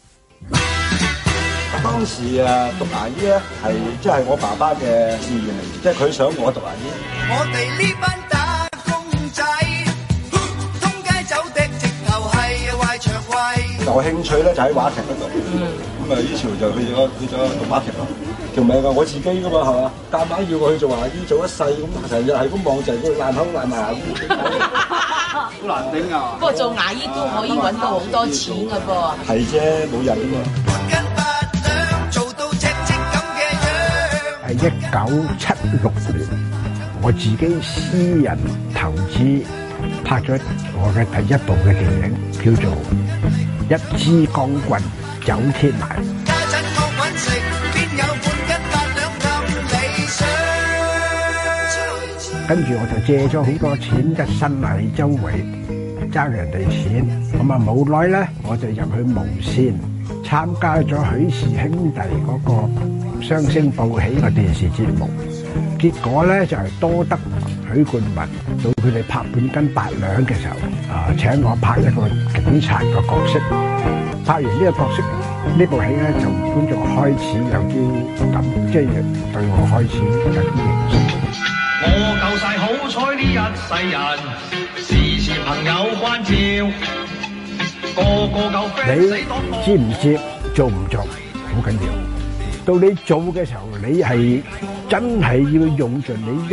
當時讀牙醫咧係即係我爸爸嘅志願嚟，即係佢想我讀牙醫。 我哋呢班打工仔，通街走的直頭係壞腸胃。 有興趣咧就喺話劇嗰度，咁於是就去咗讀話劇咯。條命我自己噶嘛係嘛，夾硬要我去做牙醫做一世咁，成日係咁望就係佢爛口爛牙咁，好難頂啊！ 不過做牙醫都可以揾到好多錢噶噃。 係啫，冇人啊嘛。 係1976年，我自己私人投資拍咗我嘅第一部嘅電影，叫做《一支光棍走天涯》。跟住我就借咗好多錢，一身係周圍爭人哋錢，咁啊冇耐咧，我就入去無線參加咗許氏兄弟嗰個雙星報喜嘅電視節目，結果咧就係多得許冠文到佢哋拍半斤八兩嘅時候，請我拍一個警察嘅角色。拍完呢個角色，呢部戲咧就觀眾開始有啲感，即係對我開始有啲認識。 我夠晒好彩呢一世人，時時朋友關照，個個夠 friend 死多多。你知唔知做唔做好緊要？到你做嘅時候，你係真係要用盡你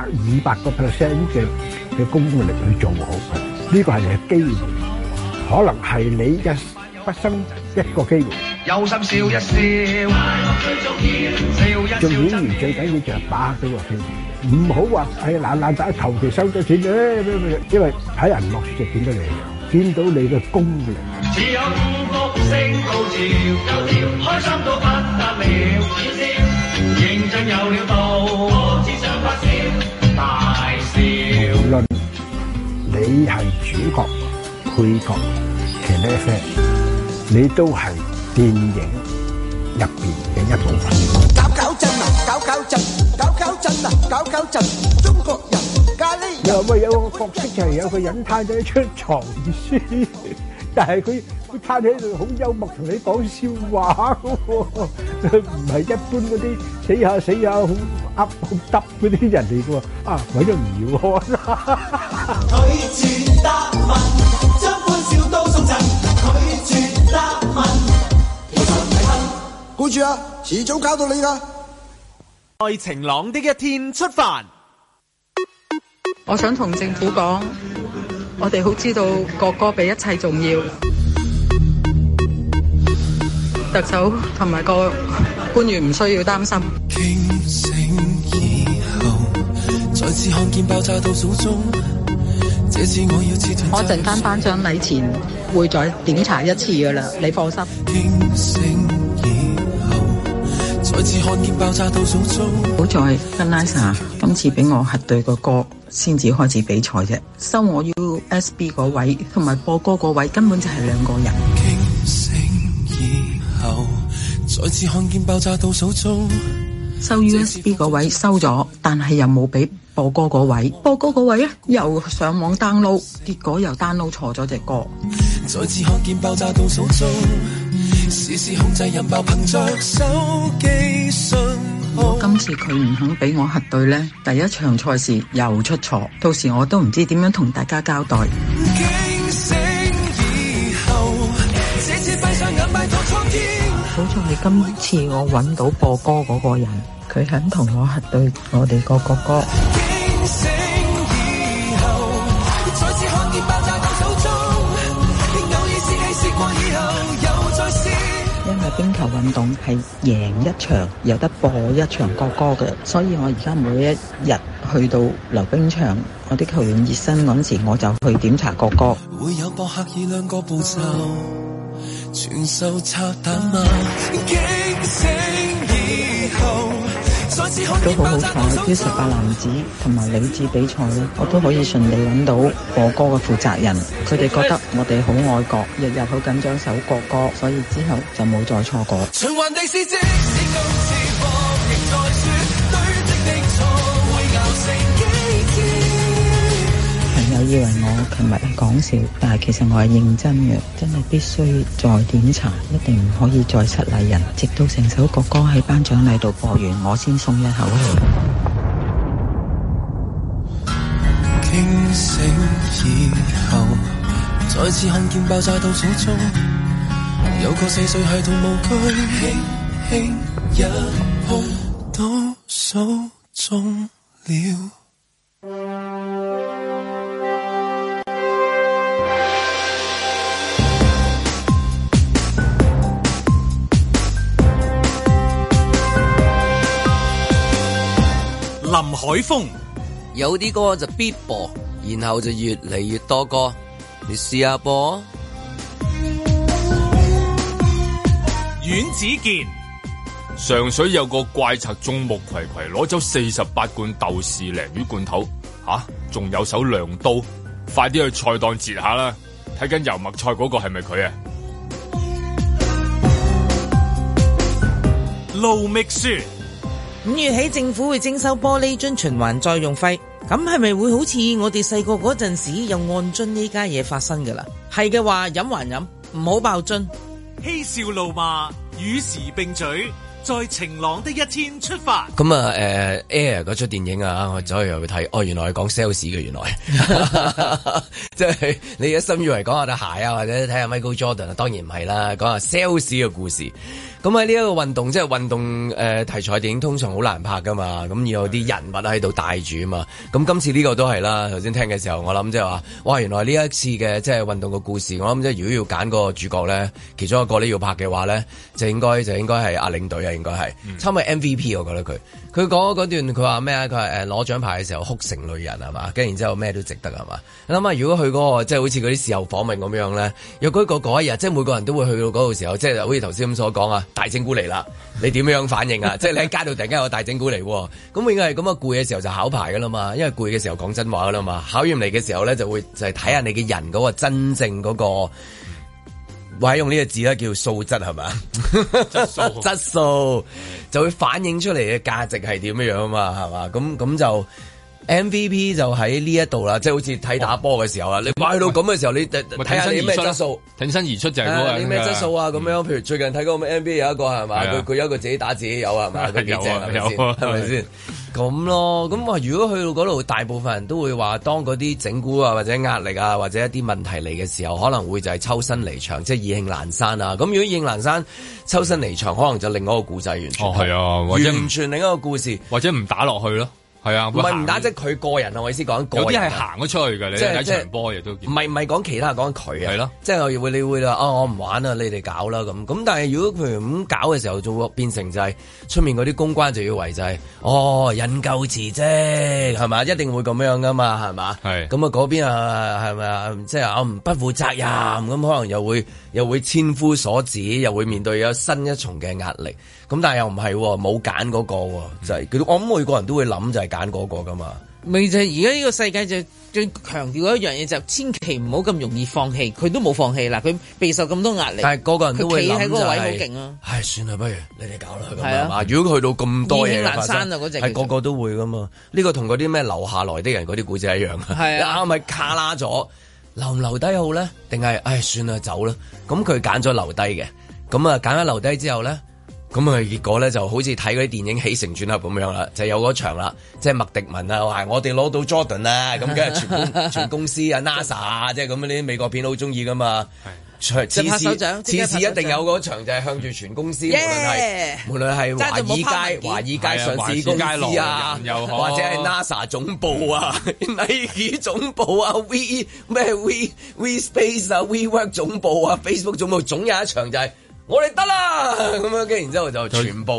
100-200% 嘅功力去做好佢。呢個係你嘅機會，可能係你一畢生一個機會。有心笑一笑，做演員最緊要就係把握到個機會，唔好話係懶打求其收咗錢因為睇人落就見到你樣，見到你嘅功力。只有福星高照，開心到不得了，認真有料到，只想發笑大笑。無論你係主角、配角、騎呢啡，你都係電影入邊嘅一部分。搞震啊！搞震！搞震啊！搞震！中國人咖喱。你話喂，有個角色就係有個人攤咗出床書，但係佢攤喺度好幽默，同你講笑話嘅喎，唔係一般嗰啲死下好噏好耷嗰啲人嚟嘅喎。啊，我都唔要看啦。拒絕答問，將歡笑都送贈。拒絕答問，其實唔係恨。顧住啊，遲早搞到你㗎。 在晴朗的一天出發。 我想同政府講，我哋好知道國歌比一切重要。特首同埋個官員唔需要擔心。驚醒以後，再次看見爆炸倒數中，這次我要切斷。我陣間頒獎禮前會再檢查一次㗎喇，你放心。驚醒以後，再次看見爆炸倒數中。好在跟拉薩今次俾我核對個歌先至開始比賽啫，收我 USB 嗰位同埋播歌嗰位根本就係兩個人。驚醒以後，再次看見爆炸倒數中。收 USB 嗰位收咗，但係又冇俾播歌嗰位。播歌嗰位咧又上網 download， 結果又 download 錯咗隻歌。再次看見爆炸倒數中，時時控制引爆憑着手機信號。如果今次佢唔肯俾我核對咧，第一場賽事又出錯，到時我都唔知點樣同大家交代。驚醒以後，這次閉上眼拜託蒼天。好在今次我揾到播歌嗰個人，佢肯同我核對我哋個國歌。驚醒以後，再次看見爆炸倒數中，偶爾試戲試過以後又再試。因為冰球運動係贏一場有得播一場國歌嘅，所以我而家每一日去到溜冰場，我啲球員熱身嗰時，我就去檢查國歌。會有博客以兩個步驟傳授拆彈嗎？驚醒以後， 都好好彩，U18男子同埋女子比賽咧，我都可以順利揾到國歌嘅負責人，佢哋覺得我哋好愛國，日日好緊張首國歌，所以之後就冇再錯過。循環地是即使今次博弈再輸，堆積的錯會熬成幾天。朋友以為我琴日係講笑，但係其實我係認真嘅，真係必須再檢查，一定唔可以再失禮人，直到成首國歌喺頒獎禮度播完，我先鬆一口氣。 驚醒以後，再次看見爆炸倒數中，有個4歲孩童無懼，輕輕一碰，倒數中了。 林海峰有啲歌就必播，然後就越嚟越多歌，你試下播。 阮子健上水有個怪賊眾目睽睽攞走48罐豆豉鯪魚罐頭，仲有手亮刀，快啲去菜檔截下啦！睇緊油麥菜嗰個係咪佢啊？ 盧覓雪 5月起政府會徵收玻璃樽循環再用費，咁係咪會好似我哋細個嗰陣時有按樽呢家嘢發生㗎啦？係嘅話飲還飲，唔好爆樽。 嬉笑怒罵與時並舉，在晴朗的一天出發。 咁啊Air 嗰出電影啊，我走去又去睇，原來係講 sales 嘅，原來即係你一心以為講下對鞋啊，或者睇下 Michael Jordan 啊，當然唔係啦，講下 sales 嘅故事。咁喺呢一個運動，即係運動題材電影通常好難拍噶嘛，咁要有啲人物喺度帶住啊嘛。咁今次呢個都係啦，頭先聽嘅時候，我諗即係話，哇！原來呢一次嘅即係運動嘅故事，我諗即係如果要揀個主角咧，其中一個要拍嘅話咧，就應該係阿領隊啊，應該係差唔多 MVP， 我覺得佢講嗰段，佢話咩啊？佢係攞獎牌嘅時候哭成淚人係嘛，跟然之後咩都值得係嘛。你諗下，如果佢嗰個即係好似嗰啲事後訪問咁樣咧，若果嗰一日，即係每個人都會去到嗰個時候，即係好似頭先咁所講啊。大整蠱嚟啦，你點樣反應啊？即係你喺街度突然間有個大整蠱嚟，咁應該係咁啊！攰嘅時候就考牌噶啦嘛，因為攰嘅時候講真話噶啦嘛，考驗嚟嘅時候咧就會就係睇下你嘅人嗰個真正嗰個，或者用呢個字咧叫素質係嘛？質素就會反映出嚟嘅價值係點樣啊嘛，係嘛？咁就。MVP 就喺呢一度啦，即係好似睇打波嘅時候啊，你去到咁嘅時候，你睇下你咩質素， 挺身而出就係嗰個你咩質素啊？咁樣，譬如最近睇嗰個 NBA 有一個係嘛，佢有一個自己打自己有係嘛，佢幾正係咪先？係咪先？咁咯，咁話如果去到嗰度，大部分人都會話，當嗰啲整蠱啊，或者壓力啊，或者一啲問題嚟嘅時候，可能會就係抽身離場，即係意興闌珊啊。咁如果意興闌珊抽身離場，可能就另一個故仔完全係啊，完全另一個故事， 或者唔打落去咯。係啊， 唔係唔打，即係佢個人啊！我意思講，有啲係行咗出去嘅，你睇場波亦都唔係講其他，講佢啊， 係咯， 即係你會話我唔玩啦，你哋搞啦咁。咁但係如果譬如咁搞嘅時候，就會變成就係出面嗰啲公關就要為就係引咎辭職係嘛，一定會咁樣噶嘛，係嘛？係咁啊，嗰邊啊係咪啊？即係我唔不負責任咁，可能又會千夫所指，又會面對有新一重嘅壓力。咁但係又唔係冇揀嗰個，就係我諗每個人都會諗就係揀嗰個噶嘛。 咪就係而家呢個世界就最強調一樣嘢，就千祈唔好咁容易放棄。佢都冇放棄啦，佢備受咁多壓力。 但係個個人都會諗就係，佢企喺嗰個位好勁啊！唉，算啦，不如你哋搞啦咁樣嘛。如果去到咁多嘢發生，係個個都會噶嘛。呢個同嗰啲咩留下來的人嗰啲故仔一樣啊。係啊，咪卡拉咗，留唔留低好咧？定係唉算啦走啦？咁佢揀咗留低嘅，咁啊揀咗留低之後咧。咁啊，結果咧就好似睇嗰啲電影起承轉合咁樣啦，就有嗰場啦，即係麥迪文啊，話我哋攞到 Jordan 啊，咁梗係全公司啊 NASA 啊，即係咁啲美國片好中意噶嘛，次次一定有嗰場就係向住全公司，無論係華爾街上市公司啊，或者係 NASA 總部啊，Nike 總部啊，We Space 啊，WeWork 總部啊，Facebook 總部總有一場就係。我哋得啦咁樣，跟然之後就全部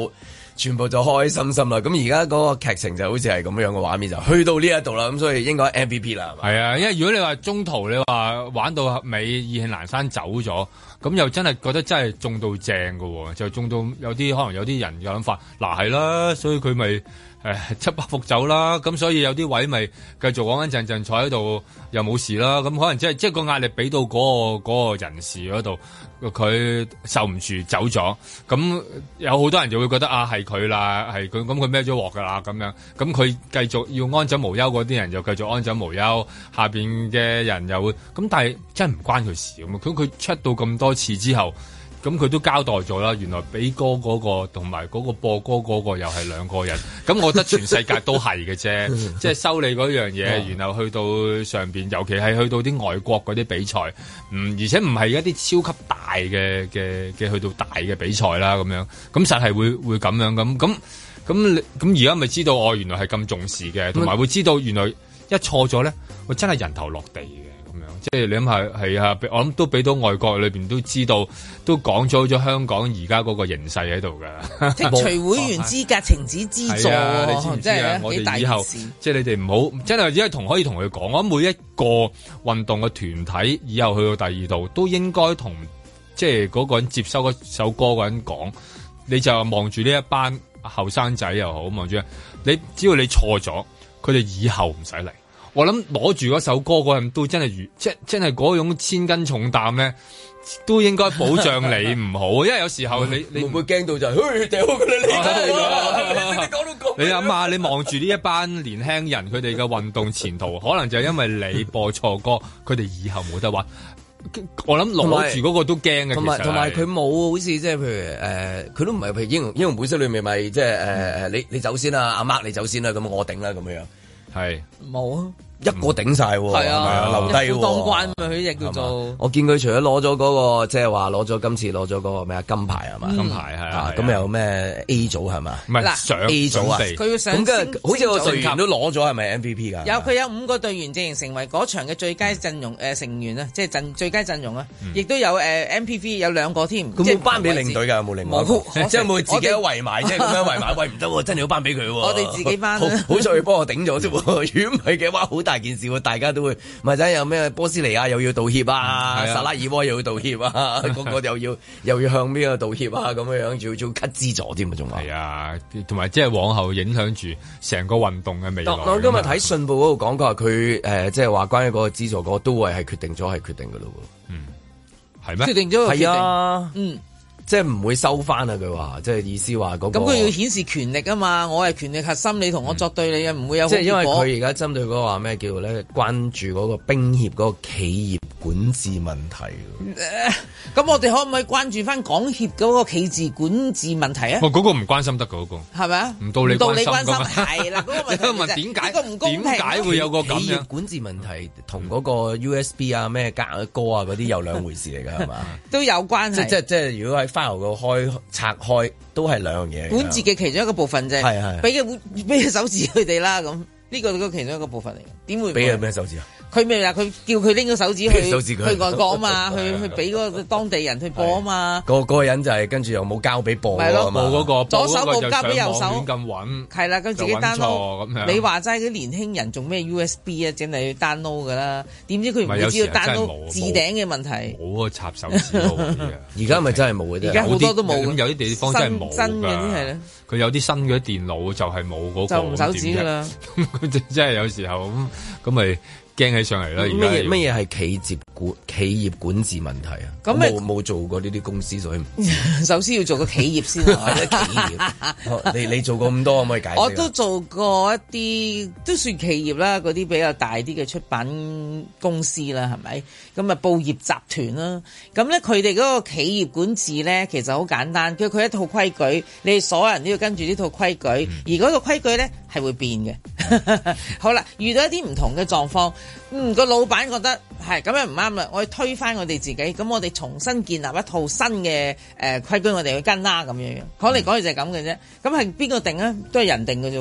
全部就開開心心啦。咁而家嗰個劇情就好似係咁樣嘅畫面，就去到呢一度啦。咁所以應該 MVP 啦，係嘛？ 係啊，因為如果你話中途你話玩到尾，意興闌珊走咗，咁又真係覺得真係中到正㗎喎，就中到有啲可能有啲人嘅諗法，嗱係啦，所以佢咪七百伏走啦，咁所以有啲位咪繼續穩穩陣陣坐喺度又冇事啦，咁可能即係個壓力俾到嗰個人士嗰度，佢受唔住走咗，咁有好多人就會覺得啊係佢啦，係佢，咁佢孭咗鑊㗎啦咁樣，咁佢繼續要安枕無憂嗰啲人就繼續安枕無憂，下邊嘅人又會，咁但係真係唔關佢事咁，佢出到咁多次之後。咁佢都交代咗啦，原來俾歌嗰個同埋嗰個播歌嗰個又係兩個人，咁我覺得全世界都係嘅啫，即係收你嗰樣嘢，然後去到上邊，尤其係去到啲外國嗰啲比賽，而且唔係一啲超級大嘅去到大嘅比賽啦，咁樣，咁實係會咁樣咁而家咪知道我原來係咁重視嘅，同埋會知道原來一錯咗咧，我真係人頭落地嘅。即係你諗下，係啊，我諗都俾到外國裏邊都知道，都講咗香港而家嗰個形勢喺度㗎。 剔除會員資格、停止資助， 你知唔知啊？我哋以後即係你哋唔好，真係只係可以同佢講，我諗每一個運動嘅團體以後去到第二度，都應該同即係嗰個人接收嗰首歌嗰人講，你就望住呢一班後生仔又好，望住你，只要你錯咗，佢哋以後唔使嚟。我諗攞住嗰首歌嗰人都真係真係嗰種千斤重擔咧，都應該保障你唔好，因為有時候你會唔會驚到就係，掉佢你講到咁， 你諗下，你望住呢一班年輕人，佢哋嘅運動前途，可能就係因為你播錯歌，佢哋以後冇得玩。我諗攞住嗰個都驚嘅， 同埋佢冇好似即係譬如佢都唔係譬如英雄本色裏面咪即係你走先啦，阿媽你走先啦，咁我頂啦咁樣。係冇啊， 一個頂晒喎，係啊，留低喎， 當關嘛，佢亦叫做。 我見佢除咗攞咗嗰個，即係話攞咗今次攞咗嗰個咩啊金牌係嘛？ 金牌係啊， 咁有咩 A 組係嘛？ 唔係上 A 組啊， 佢要上。 咁跟住好似個隊員都攞咗係咪 MVP 㗎？ 佢有5個隊員正成為嗰場嘅最佳陣容成員啊，即係最佳陣容啊，亦都有MVP 有2個添。 咁冇頒俾領隊㗎，有冇另外？即係冇自己都圍埋，即係咁樣圍埋，喂唔得喎，真係要頒俾佢喎。 我哋自己頒。 好彩佢幫我頂咗啫喎，如果唔係嘅話，好大件事喎，大家都會咪仔有咩波斯尼亞又要道歉啊，薩拉爾窩又要道歉啊，嗰個又要向邊個道歉啊，咁樣樣仲要 cut 資助添啊，仲話係啊，同埋即係往後影響住成個運動嘅未來。 我今日睇信報嗰度講，佢話佢即係話關於嗰個資助嗰個都係決定咗係決定㗎咯喎， 係咩？ 決定咗係啊，即係唔會收翻啊！佢話即係意思話嗰個。咁佢要顯示權力啊嘛！我係權力核心，你同我作對你嘅唔會有。 即係因為佢而家針對嗰個話咩叫咧？關注嗰個冰協嗰個企業管治問題。 咁我哋可唔可以關注翻港協嗰個企業管治問題啊？ 嗰個唔關心得嗰個。係咪啊？唔到你關心係啦，嗰個問題點解會有個咁樣企業管治問題同嗰個 USB 啊咩歌啊嗰啲有兩回事嚟㗎係嘛？ 都有關係。 即係如果喺file個拆開都係兩樣嘢。 管治嘅其中一個部分啫，係俾個手指佢哋啦，咁呢個都其中一個部分嚟嘅。點會俾佢咩手指啊？ 佢咪話佢叫佢拎個手指去外國啊嘛，去俾嗰個當地人去播啊嘛。 嗰個人就係跟住又冇交俾播啊嘛。 冇嗰個左手冇交俾右手， 咁揾係啦，咁自己 download 咁樣。你話齋啲年輕人仲咩 USB 啊，整嚟去 download 噶啦？點知佢唔會知道 download 置頂嘅問題。 冇個插手指而家咪真係冇嘅啫。 而家好多都冇。 咁有啲地方真係冇㗎。 新嘅啲係咧。 佢有啲新嘅電腦就係冇嗰個。 就唔手指㗎啦。 咁真係有時候咁咪。驚起上嚟啦！ 乜嘢係企業管治問題啊？咁冇做過呢啲公司，所以首先要做個企業先啊！ 企業，你做過咁多，可唔可以解釋？ 我都做過一啲都算企業啦，嗰啲比較大啲嘅出版公司啦，係咪？咁啊，報業集團啦，咁咧佢哋嗰個企業管治咧，其實好簡單，佢一套規矩，你哋所有人都要跟住呢套規矩，而嗰個規矩咧係會變嘅。好啦，遇到一啲唔同嘅狀況。個老闆覺得係咁樣唔啱啦，我要推翻我哋自己，咁我哋重新建立一套新嘅規矩，我哋去跟啦咁樣。講嚟講去就係咁嘅啫。咁係邊個定啊？都係人定嘅啫。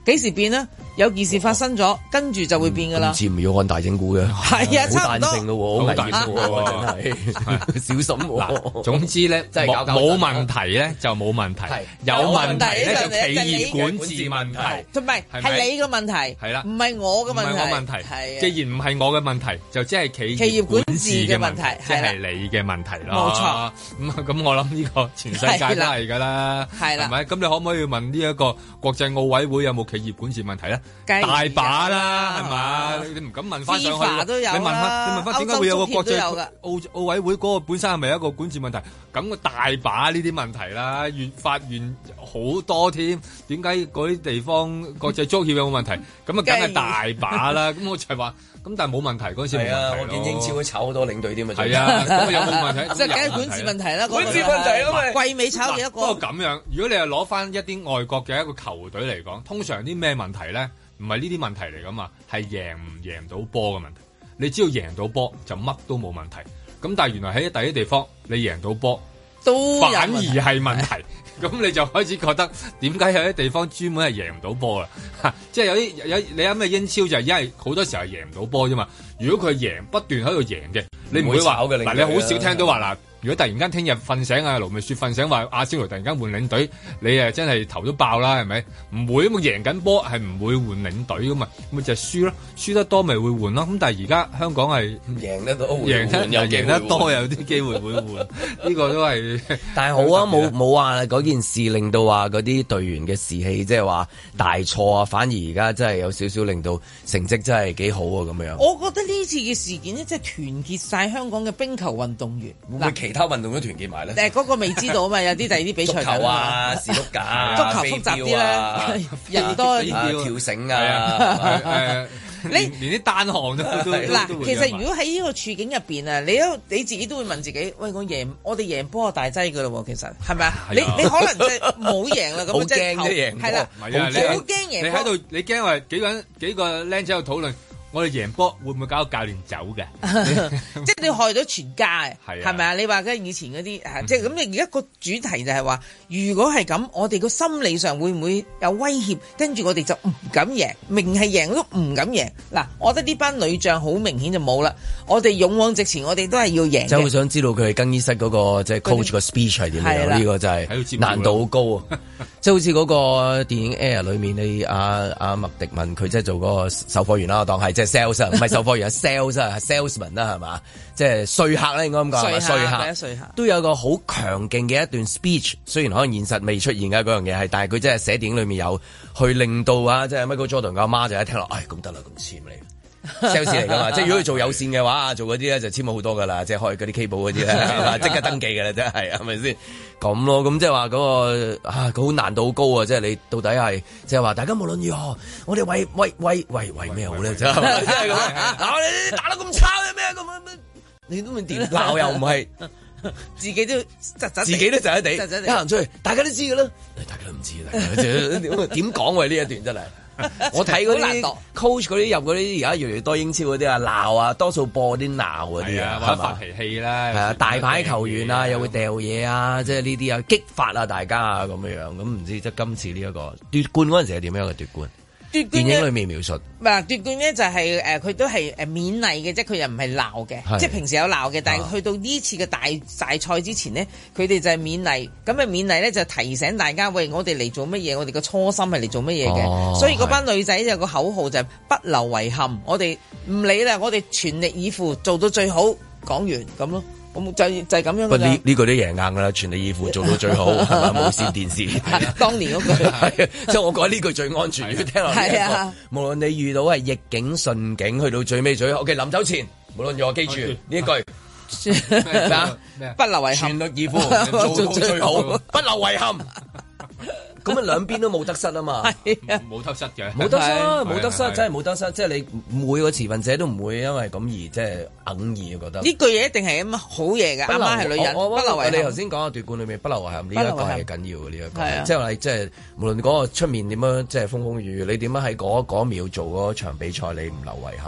幾時變呢？有件事發生咗，跟住就會變噶啦。 似唔要看大整蠱嘅， 係啊， 好彈性咯，好危險喎，真係小心喎。 總之咧，真係冇問題咧就冇問題，有問題咧就企業管治問題， 同埋係你嘅問題，係啦，唔係我嘅問題， 唔係我問題。係，既然唔係我嘅問題，就即係企業管治嘅問題，即係你嘅問題咯。冇錯。咁我諗呢個全世界都係㗎啦，係啦，係咪？咁你可唔可以問呢一個國際奧委會有冇企業管治問題咧？大把啦，係嘛？你唔敢問翻上去，你問翻點解會有個國際奧委會嗰個本身係咪一個管治問題？咁個大把呢啲問題啦，法院好多添。點解嗰啲地方國際足協有冇問題？咁啊，梗係大把啦。咁我就係話，咁但係冇問題嗰陣時冇問題咯。我見英超都炒好多領隊添啊。係啊，咁有冇問題？ 即係梗係管治問題啦。 管治問題啊嘛。 季尾炒幾多個？ 不過咁樣，如果你係攞翻一啲外國嘅一個球隊嚟講，通常啲咩問題咧？唔係呢啲問題嚟噶嘛，係贏唔贏到波嘅問題。你只要贏到波就乜都冇問題。咁但係原來喺第一地方你贏到波都反而係問題。咁你就開始覺得點解有啲地方專門係贏唔到波啦？即係有你諗咩英超就係因為好多時候係贏唔到波啫嘛。如果佢贏不斷喺度贏嘅，你唔會話嗱，你好少聽到話嗱。如果突然間聽日瞓醒啊，盧覓雪瞓醒話阿仙奴突然間換領隊，你誒真係頭都爆啦，係咪？唔會，咁贏緊波係唔會換領隊噶嘛，咪就係輸咯，輸得多咪會換咯。咁但係而家香港係贏得多，贏得多有啲機會會換，呢個都係。但係好啊，冇話嗰件事令到話嗰啲隊員嘅士氣即係話大錯啊，反而而家真係有少少令到成績真係幾好啊咁樣。 我覺得呢次嘅事件咧，即係團結晒香港嘅冰球運動員。 會其他運動都團結埋咧？ 嗰個未知道啊嘛，有啲第二啲比賽足球啊、士碌架、 足球複雜啲啦，人多跳繩啊， 連啲單項都嗱。其實如果喺呢個處境入邊啊，你自己都會問自己：喂，我哋贏波大劑噶咯，其實係咪啊？你可能即係冇贏啦，咁即係贏係啦，好驚贏。你喺度，你驚話幾個僆仔喺度討論。我哋贏波會唔會搞到教練走嘅？即係你害咗全家嘅，係咪啊？你話以前嗰啲即係咁。你而家個主題就係話，如果係咁，我哋個心理上會唔會有威脅？跟住我哋就唔敢贏，明係贏都唔敢贏。嗱，我覺得呢班女將好明顯就冇啦。我哋勇往直前，我哋都係要贏。真係好想知道佢哋更衣室嗰個即係 coach 個 speech 係點樣？呢個就係難度好高啊！即係好似嗰個電影 Air 裏面，你阿麥迪文佢即係做嗰個售貨員啦，我當係即係 sales 唔係售貨員，sales 啊，salesman 啦係嘛？即係說客咧應該咁講，說客都有個好強勁嘅一段 speech， 雖然可能現實未出現嘅嗰樣嘢係，但係佢真係寫電影裏面有去令到啊，即係 Michael Jordan 嘅阿媽就一聽落，唉咁得啦，咁簽你。sales 嚟噶嘛，即係如果佢做有線嘅話，做嗰啲咧就簽好多噶啦，即係開嗰啲 cable 嗰啲咧，即刻登記噶啦，真係係咪先？咁咯，咁即係話嗰個佢好難度好高啊！即係你到底係即係話大家無論如何，我哋為咩好咧？真係咁嗱，你打得咁差嘅咩咁？你都唔掂鬧又唔係，自己都窒窒地，一行出去，大家都知噶啦，大家都唔知啦，點講喎？呢一段真係。我睇嗰啲 coach 嗰啲入嗰啲而家越嚟越多英超嗰啲啊鬧啊，多數播啲鬧嗰啲啊， 發脾氣啦， 係啊，大牌球員啊又會掉嘢啊，即係呢啲啊激發啊大家啊咁樣樣，咁唔知即係今次呢一個奪冠嗰陣時係點樣嘅奪冠？電影裏面描述，奪冠咧就係佢都係勉勵嘅，即係佢又唔係鬧嘅，即係平時有鬧嘅，但係去到呢次嘅大賽之前呢，佢哋就係勉勵，咁啊勉勵咧就提醒大家，喂，我哋嚟做乜嘢？我哋個初心係嚟做乜嘢嘅？所以嗰班女仔有個口號就係不留遺憾，我哋唔理啦，我哋全力以赴做到最好，講完咁咯。就係咁樣㗎啦。呢個都贏硬㗎啦，全力以赴做到最好，係咪？無線電視當年嗰句，即係我覺得呢句最安全。聽落係啊，無論你遇到係逆境順境，去到最尾最好。OK，臨走前，無論如何記住呢一句咩？不留遺憾，全力以赴做到最好，不留遺憾。咁啊，兩邊都冇得失啊嘛， 冇得失嘅， 冇得失，冇得失，真係冇得失。即係你每個持份者都唔會因為咁而即係硬意覺得呢句嘢一定係咁好嘢嘅。阿媽係女人，不留遺憾。你頭先講嘅奪冠裏面不留遺憾呢一個係緊要嘅呢一個，即係話即係無論嗰個出面點樣即係風風雨雨，你點樣喺嗰一秒做嗰場比賽，你唔留遺憾。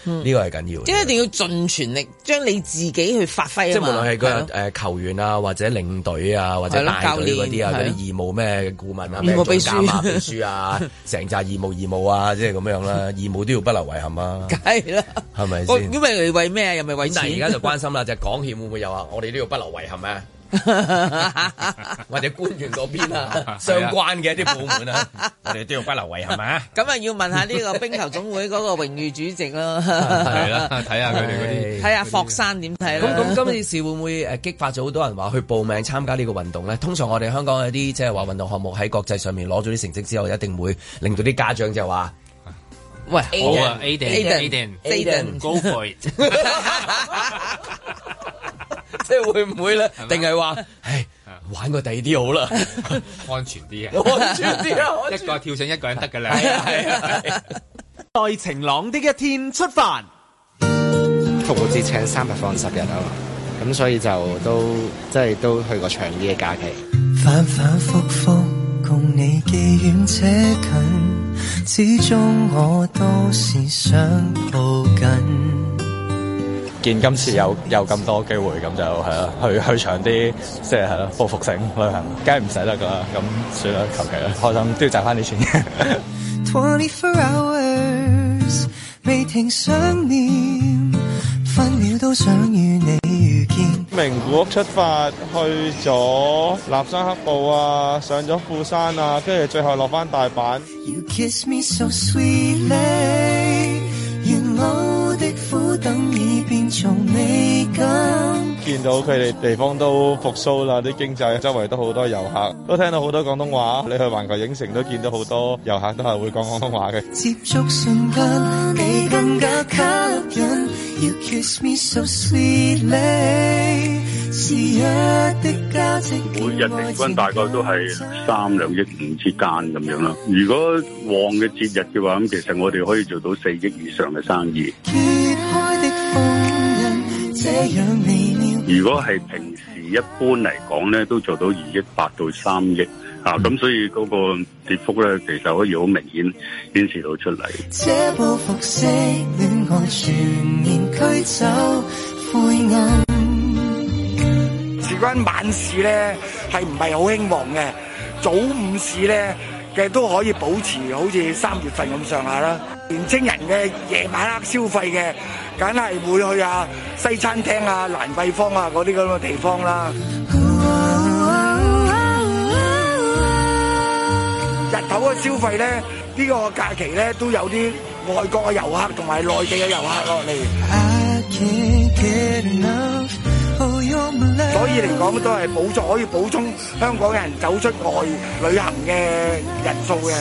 呢個係緊要。 即係一定要盡全力將你自己去發揮啊嘛。 即係無論係個球員啊，或者領隊啊，或者帶隊嗰啲啊，嗰啲義務咩顧問啊，咩總監啊、秘書啊，成紮義務啊，即係咁樣啦。義務都要不留遺憾啊。梗係啦， 係咪先？ 咁咪為咩啊？又咪為錢？ 但係而家就關心啦，就係港協會唔會有啊？我哋都要不留遺憾啊！或者官員嗰邊啊，相關嘅一啲部門啊，我哋都要不留遺憾啊！ 咁啊，要問下呢個冰球總會嗰個榮譽主席咯。 係啦，睇下佢哋嗰啲， 睇下霍山點睇啦。 咁今次事會唔會激發咗好多人話去報名參加呢個運動咧？通常我哋香港有啲即係話運動項目喺國際上面攞咗啲成績之後，一定會令到啲家長就話：喂， 好啊 ，Aiden，Go for it！ 即係會唔會咧？定係話，唉，玩個第二啲好啦， 安全啲啊！ 安全啲啊！ 一個跳繩一個人得㗎啦。 係在晴朗的一天出發， 復活節請3日放10日啊嘛，咁所以就都即係都去個長啲嘅假期。 反反覆覆共你既遠且近，始終我都是想抱緊。 見今次有咁多機會，咁就係啦，去長啲，即係係啦，報復性旅行，梗係唔使得噶啦，咁算啦，求其啦，開心都要賺翻啲錢。 24 hours 未停想念，分秒都想與你遇見。 名古屋出發，去咗立山黑部啊，上咗富山啊，跟住最後落翻大阪。 You kiss me so sweetly， 原來的苦等已變做美感。 見到佢哋地方都復甦啦，啲經濟周圍都好多遊客，都聽到好多廣東話。你去環球影城都見到好多遊客都係會講廣東話嘅。 接觸瞬間，你更加吸引。You kiss me so sweetly， 是一的價值。 每日平均大概都係3、2億5之間咁樣啦。如果旺嘅節日嘅話，咁其實我哋可以做到4億以上嘅生意。 揭開的封印，這樣微妙。 如果係平時一般嚟講咧，都做到2億8到3億啊，咁所以嗰個跌幅咧，其實可以好明顯顯示到出嚟。 這報復式戀愛全面驅走灰暗。 事關晚市咧，係唔係好興旺嘅？早午市咧嘅都可以保持好似3月份咁上下啦。年青人嘅夜晚黑消費嘅，梗係會去啊西餐廳啊、蘭桂坊啊嗰啲咁嘅地方啦。日頭嘅消費咧，呢個假期咧都有啲外國嘅遊客同埋內地嘅遊客落嚟。所以嚟講都係可以補充香港人走出外旅行嘅人數嘅。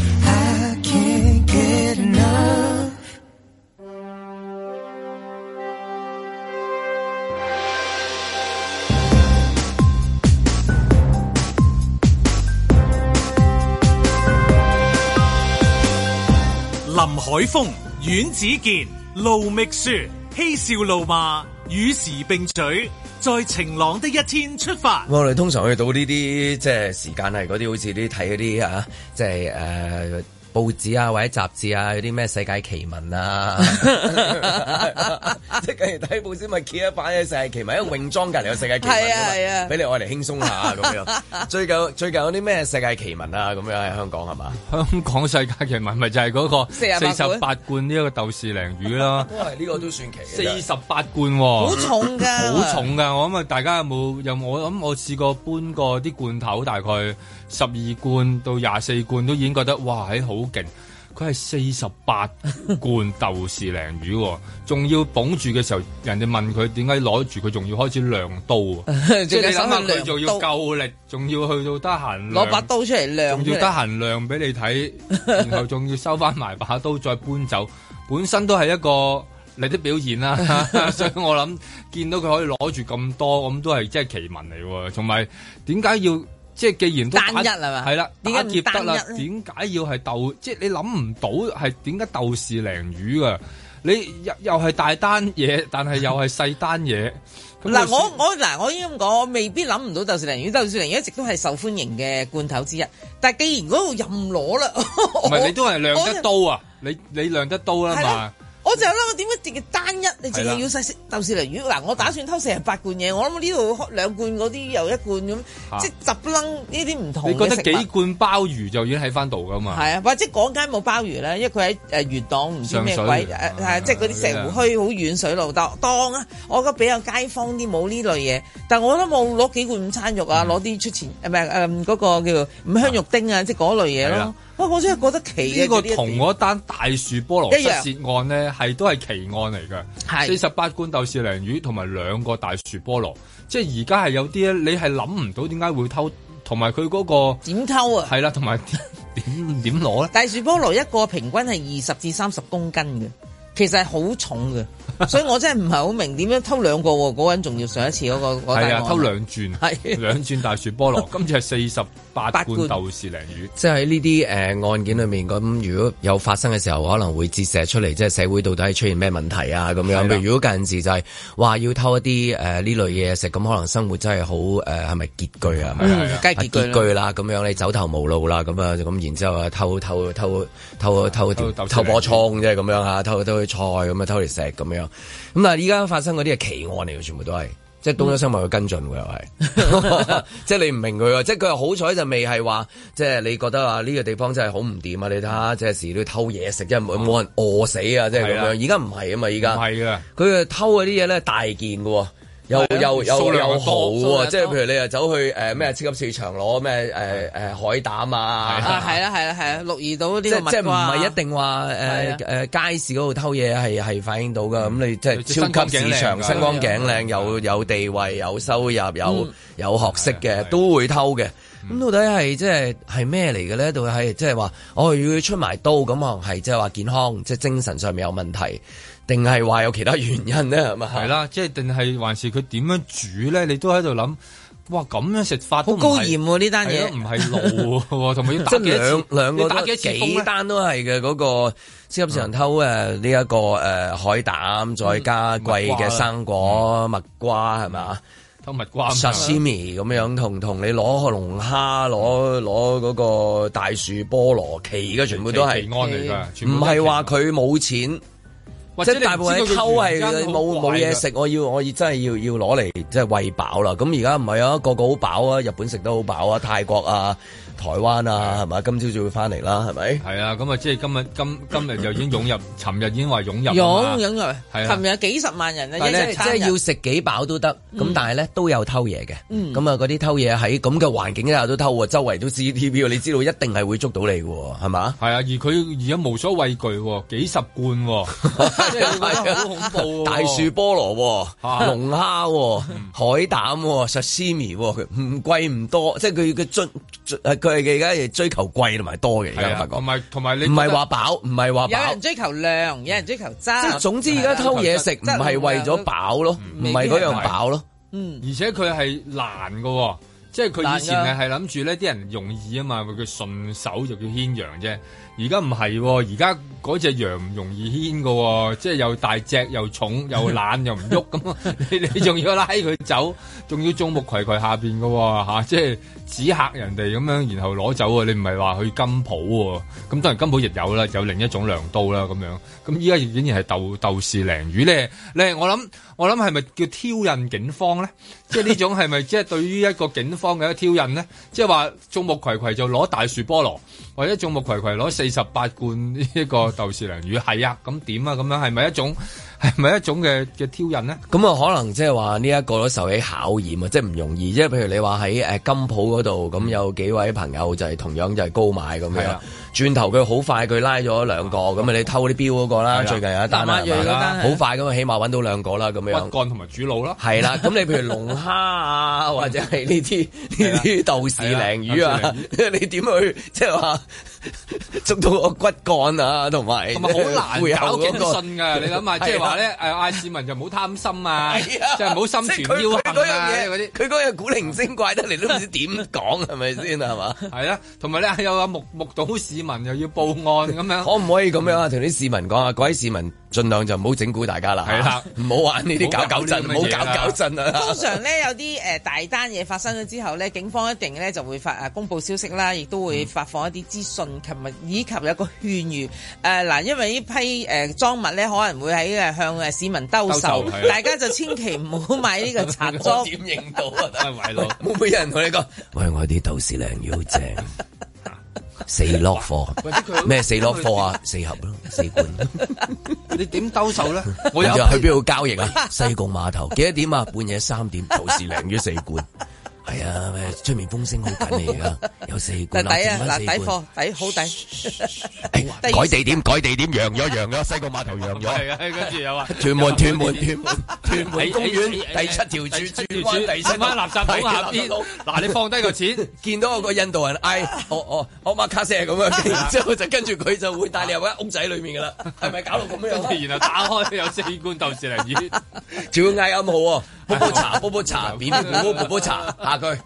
林海峰、阮子健、盧覓雪，嬉笑怒罵，與時並舉，在晴朗的一天出發。 我哋通常去到呢啲即係時間係嗰啲好似啲睇嗰啲啊，即係報紙啊或者雜誌啊，有啲咩世界奇聞啊，即係近日睇報紙咪揭一版嘅世界奇聞，因為泳裝隔離有世界奇聞啊嘛，俾你愛嚟輕鬆下咁樣。最近有啲咩世界奇聞啊咁樣喺香港係嘛？ 香港世界奇聞咪就係嗰個48罐呢一個豆豉鯪魚啦。 都係呢個都算奇 48罐喎， 好重㗎， 好重㗎。我諗啊，大家有冇我諗我試過搬過啲罐頭，大概12罐到24罐都已經覺得哇係好勁。佢係48罐豆豉鯪魚，仲要綁住嘅時候，人哋問佢點解攞住佢，仲要開始亮刀啊！即係你諗下，佢仲要夠力，仲要去到得閒攞把刀出嚟亮， 仲要得閒亮俾你睇，然後仲要收翻埋把刀再搬走，本身都係一個你的表現啦。所以我諗見到佢可以攞住咁多，咁都係即係奇聞嚟喎。同埋點解要？即係既然都單一係嘛？ 係啦，點解劫得啦？ 點解要係豆？即係你諗唔到係點解豆豉鯪魚㗎？你又係大單嘢，但係又係細單嘢。 嗱，我應該咁講，我未必諗唔到豆豉鯪魚。豆豉鯪魚一直都係受歡迎嘅罐頭之一。但係既然嗰度任攞啦， 唔係你都係亮得刀啊！你亮得刀啦嘛。 我就諗我點解淨係單一，你淨係要細豆豉鯪魚嗱？我打算偷48罐嘢，我諗呢度2罐嗰啲又1罐咁，即係十楞呢啲唔同嘅食物。 你覺得幾罐鮑魚就已經喺翻度噶嘛？ 係啊，或者嗰間冇鮑魚咧，因為佢喺元朗唔知咩鬼即係嗰啲石湖墟好遠水路當啊！我覺得比較街坊啲冇呢類嘢，但我都冇攞幾罐午餐肉啊，攞啲出前嗰個叫做五香肉丁啊，即係嗰類嘢咯。我真係覺得奇嘅。呢個同嗰單大樹菠蘿失竊案咧，都係奇案嚟㗎。48罐豆豉鯪魚同埋2個大樹菠蘿，即係而家係有啲咧，你係諗唔到點解會偷，同埋佢嗰個點偷啊？係啦，同埋點攞咧？ 大樹菠蘿一個平均係20至30公斤嘅，其實係好重嘅。所以我真係唔係好明點樣偷2個喎，嗰人仲要上一次嗰個係啊，偷2轉，2轉大樹菠蘿，今次係48罐豆豉鯪魚。 即係喺呢啲案件裏面，咁如果有發生嘅時候，可能會折射出嚟，即係社會到底係出現咩問題啊咁樣。譬如如果近時就係話要偷一啲呢類嘢食，咁可能生活真係好係咪拮據啊？ 梗係拮據啦，咁樣你走投無路啦，咁啊咁然之後啊偷波葱即係咁樣嚇，偷啲菜咁啊偷嚟食咁樣。咁但係依家發生嗰啲係奇案嚟嘅，全部都係，即係東張新聞去跟進喎，又係，即係你唔明佢，即係佢好彩就未係話，即係你覺得話呢個地方真係好唔掂啊！你睇下，即係時都偷嘢食，即係冇人餓死啊！即係咁樣，而家唔係啊嘛，而家唔係㗎，佢偷嗰啲嘢咧大件嘅喎。又好喎，即係譬如你又走去咩超級市場攞咩海膽啊， 係啦，鹿兒島啲即係唔係一定話街市嗰度偷嘢係反映到噶，咁你即係超級市場身光頸靚，有地位、有收入、有學識嘅都會偷嘅。咁到底係即係咩嚟嘅咧？到底係即係話要出埋刀咁，可能係即係話健康，即係精神上面有問題。定係話有其他原因咧？係咪？ 係啦，即係定係還是佢點樣煮咧？你都喺度諗，哇！咁樣食法好高鹽喎呢單嘢， 唔係路喎，同埋要打幾次？ 兩個打幾單都係嘅。嗰個超級市場偷呢一個海膽，再加貴嘅生果蜜瓜係咪？ 偷蜜瓜 sashimi 咁樣，同你攞龍蝦，攞嗰個大樹菠蘿，奇嘅全部都係奇案嚟㗎， 唔係話佢冇錢。即係大部分偷係冇嘢食，我真係要攞嚟即係餵飽啦。咁而家唔係啊，個個好飽啊，日本食得好飽啊，泰國啊、台灣啊，係咪？今朝就會翻嚟啦，係咪？係啊，咁啊，即係今日就已經湧入，尋日已經話湧入， 湧入，尋日幾十萬人啊， 即係要食幾飽都得。咁但係咧都有偷嘢嘅。咁啊，嗰啲偷嘢喺咁嘅環境之下都偷喎，周圍都 CCTV，你知道一定係會捉到你嘅，係嘛？ 係啊，而佢而家無所畏懼，幾十罐。即係好恐怖， 大樹菠蘿、龍蝦、海膽、sashimi，唔貴唔多，即係佢係而家係追求貴同埋多嘅。而家發覺， 同埋你唔係話飽，唔係話飽， 有人追求量，有人追求質。即係總之而家偷嘢食唔係為咗飽咯，唔係嗰樣飽咯。 而且佢係難㗎，即係佢以前係諗住呢啲人容易啊嘛，佢順手就叫牽羊啫。而家唔係，而家嗰隻羊唔容易牽㗎，即係又大隻又重又懶又唔喐咁，你仲要拉佢走，仲要眾目睽睽下邊㗎吓，即係指嚇人哋咁樣，然後攞走啊！你唔係話去金鋪喎，咁當然金鋪亦有啦，有另一種良刀啦咁樣。咁依家竟然係豆豉鯪魚咧，我諗係咪叫挑釁警方咧？即係呢種係咪即係對於一個警方嘅一個挑釁咧？即係話眾目睽睽就攞大樹菠蘿，或者眾目睽睽攞48罐呢一個豆豉鯪魚，係啊，咁點啊？咁樣係咪一種嘅挑釁呢？ 咁啊，可能即係話呢一個都受起考驗啊，即係唔容易。即係譬如你話喺金鋪嗰度，咁有幾位朋友就係同樣就係高買咁樣。轉頭佢好快，佢拉咗2個，咁啊你偷啲錶嗰個啦，最近有一單啦，好快咁啊，起碼揾到2個啦，咁樣。 骨幹同埋主腦啦。係啦，咁你譬如龍蝦啊，或者係呢啲豆豉鯪魚啊，你點去即係話捉到個骨幹啊，同埋好難搞警訊㗎。你諗下，即係話咧嗌市民就唔好貪心啊，即係唔好心存僥倖啊嗰啲。 佢嗰樣古靈精怪得嚟都唔知點講係咪先係嘛？ 係啦，同埋咧有目睹市民民又要報案咁樣， 可唔可以咁樣啊？同啲市民講啊，各位市民盡量就唔好整蠱大家啦，係啦，唔好玩呢啲搞震，唔好搞震啊！ 通常咧有啲大單嘢發生咗之後咧，警方一定咧就會公佈消息啦，亦都會發放一啲資訊，以及有一個勸喻嗱，因為呢批贓物咧可能會喺向市民兜售，大家就千祈唔好買呢個賊贓。 點認到啊？係咯，會唔會有人同你講？喂，我啲豆豉鯪魚好正。4落貨，咩4落貨啊？4盒咯，4罐。 你點兜售咧？ 我又去邊度交易啊？西貢碼頭幾多點啊？半夜3點，豆豉鯪魚4罐。係啊，出面風聲好緊嚟噶，有4罐。 抵啊！嗱，抵貨，抵好抵。 改地點，揚咗，西貢碼頭揚咗。 係啊，跟住有啊， 屯門公園第7條柱轉彎第7 垃圾桶下邊。嗱，你放低個錢， 見到有個印度人嗌我馬卡西咁樣，之後就跟住佢就會帶你入間屋仔裏面噶啦，係咪搞到咁樣？ 跟住然後打開有4罐豆豉鯪魚， 仲要嗌暗號喎，煲茶，扁煲茶。下句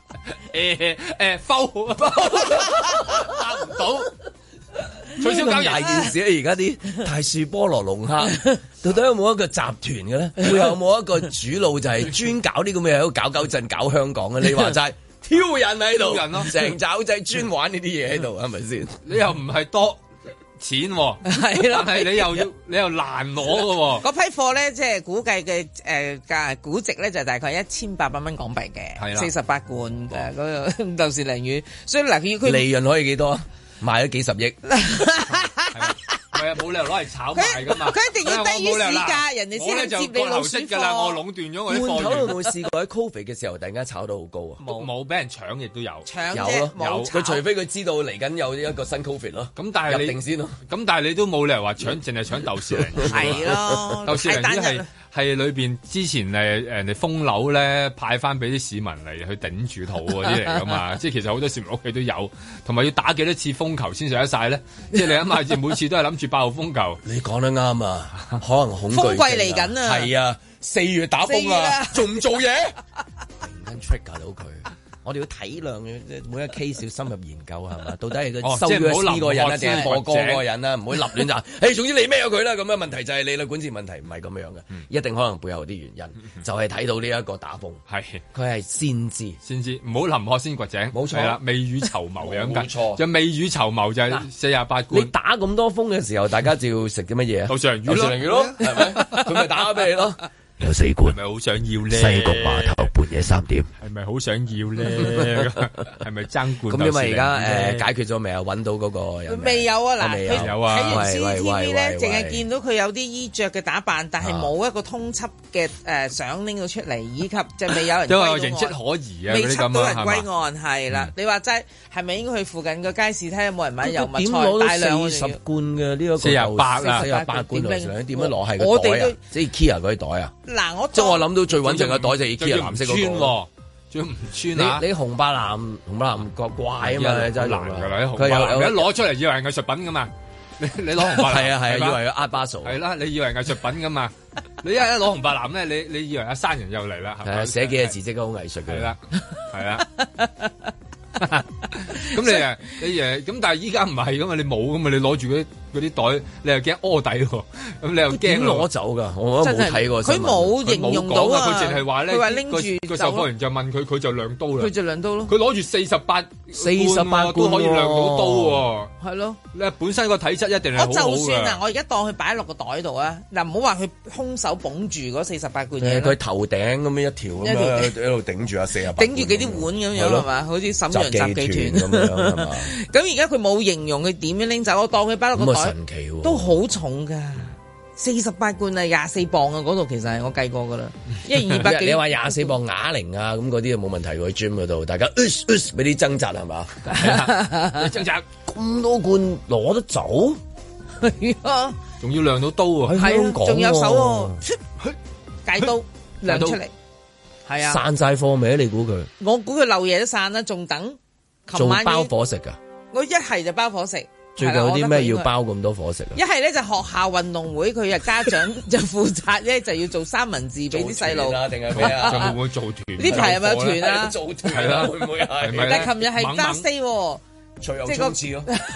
包答唔到，取消交易大件事啊！而家啲大樹菠蘿龍蝦，到底有冇一個集團嘅咧？會有冇一個主腦就係專搞啲咁嘅嘢，喺度搞震搞香港嘅？你話齋挑人喺度，成爪仔專玩呢啲嘢喺度，係咪先？ 你又唔係多錢喎， 係啦， 但係你又難攞嘅喎。 嗰批貨咧，即係估計嘅價估值咧，就大概1800蚊港幣嘅，係啦，48罐嗰個豆豉鯪魚。所以嗱，佢利潤可以幾多啊？賣咗幾十億。 係啊，冇理由攞嚟炒賣噶嘛。 佢一定要低於市價，人哋先係接你老鼠貨。 我壟斷咗我啲貨源。 罐頭有冇試過喺 Covid 嘅時候突然間炒到好高啊？ 冇俾人搶，亦都有。 有咯，佢除非佢知道嚟緊有一個新 Covid 咯。 咁但係入定先咯。 咁但係你都冇理由話搶，淨係搶豆豉鯪魚。 係咯， 豆豉鯪魚係裏邊之前人哋封樓咧派翻俾啲市民嚟去頂住肚嗰啲嚟噶嘛。即係其實好多市民屋企都有，同埋要打幾多次風球先食得晒咧？即係你諗下，每次都係諗住8號風球。 你講得啱啊，可能恐懼。 風季嚟緊啊！ 係啊，4月打風啊，仲唔做嘢？突然間 trigger 到佢。我哋要體諒每一個 case 要深入研究係嘛？到底係佢收咗呢個人啊，定係播歌嗰個人啊？唔好立亂就，總之你咩咗佢啦。咁樣問題就係你啦，管治問題唔係咁樣嘅，一定可能背後有啲原因，就係睇到呢一個打風，係佢係先知， 唔好臨渴先掘井，冇錯啦，未雨綢繆嘅咁錯， 就未雨綢繆就係48罐。 你打咁多風嘅時候，大家就要食啲乜嘢啊？ 豆豉鯪魚咯， 係咪？佢咪打俾你咯。有4罐， 係咪好想要咧？ 西貢碼頭半夜3點， 係咪好想要咧？係咪爭罐？ 咁因為而家解決咗未啊？揾到嗰個人未有啊？嗱， 未有啊？ 睇完 CCTV 咧，淨係見到佢有啲衣着嘅打扮，但係冇一個通緝嘅相拎到出嚟，以及就未有人都有形跡可疑啊！ 未緝到人歸案，係啦。你話齋係咪應該去附近個街市睇下有冇人買油麥菜大量 40罐嘅呢個 48啊 ？48罐點樣攞係個袋啊？即係 Kia 嗰啲袋啊？ 嗱， 即係我諗到最穩陣嘅袋就係 IKEA 藍色嗰個， 仲要唔穿啊！ 你紅白藍個怪啊嘛，真係難㗎啦！ 佢有一攞出嚟以為係藝術品㗎嘛，你攞紅白藍係啊，以為 Art Basel 係啦，你以為藝術品㗎嘛？你一攞紅白藍咧，你以為阿山人又嚟啦？ 係啊，寫幾個字即係好藝術嘅。 係啦。咁你咁，但係依家唔係噶嘛，你冇噶嘛，你攞住嗰啲袋，你又驚屙底喎，咁你又驚攞走噶，我冇睇過。 佢冇形容到啊， 佢淨係話咧，佢話拎住個售貨員就問佢就亮刀啦， 佢就亮刀咯。 佢攞住48罐都可以亮到刀喎， 係咯。 你本身個體質一定係好好嘅。 我就算啊，我而家當佢擺落個袋度啊，嗱，唔好話佢空手捧住嗰48罐嘢。 佢頭頂咁樣一條咁樣喺度頂住啊48。 頂住幾啲碗咁樣係嘛？好似瀋陽雜技團咁樣係嘛？ 咁而家佢冇形容佢點樣拎走，我當佢擺落個袋。 神奇喎， 都好重噶，48罐啊，24磅啊，嗰度其實係我計過噶啦，因為200幾。 你話24磅啞鈴啊，咁嗰啲就冇問題喎，gym 嗰度大家俾啲掙扎係嘛？ 掙扎咁多罐攞得走， 係啊， 仲要亮到刀喎， 係啊，仲有手喎，戒刀亮出嚟，係啊， 散晒貨未？你估佢？ 我估佢漏嘢都散啦，仲等。 做包伙食噶？ 我一係就包伙食。 最近有啲咩要包咁多伙食啊？ 一係咧就學校運動會，佢啊家長就負責咧，就要做三文治俾啲細路。 定係咩啊？ 就會唔會做團？ 呢排係咪有團啊？ 做團係啦，會唔會係？ 但係琴日係揸 stay， 隨後衝刺咯。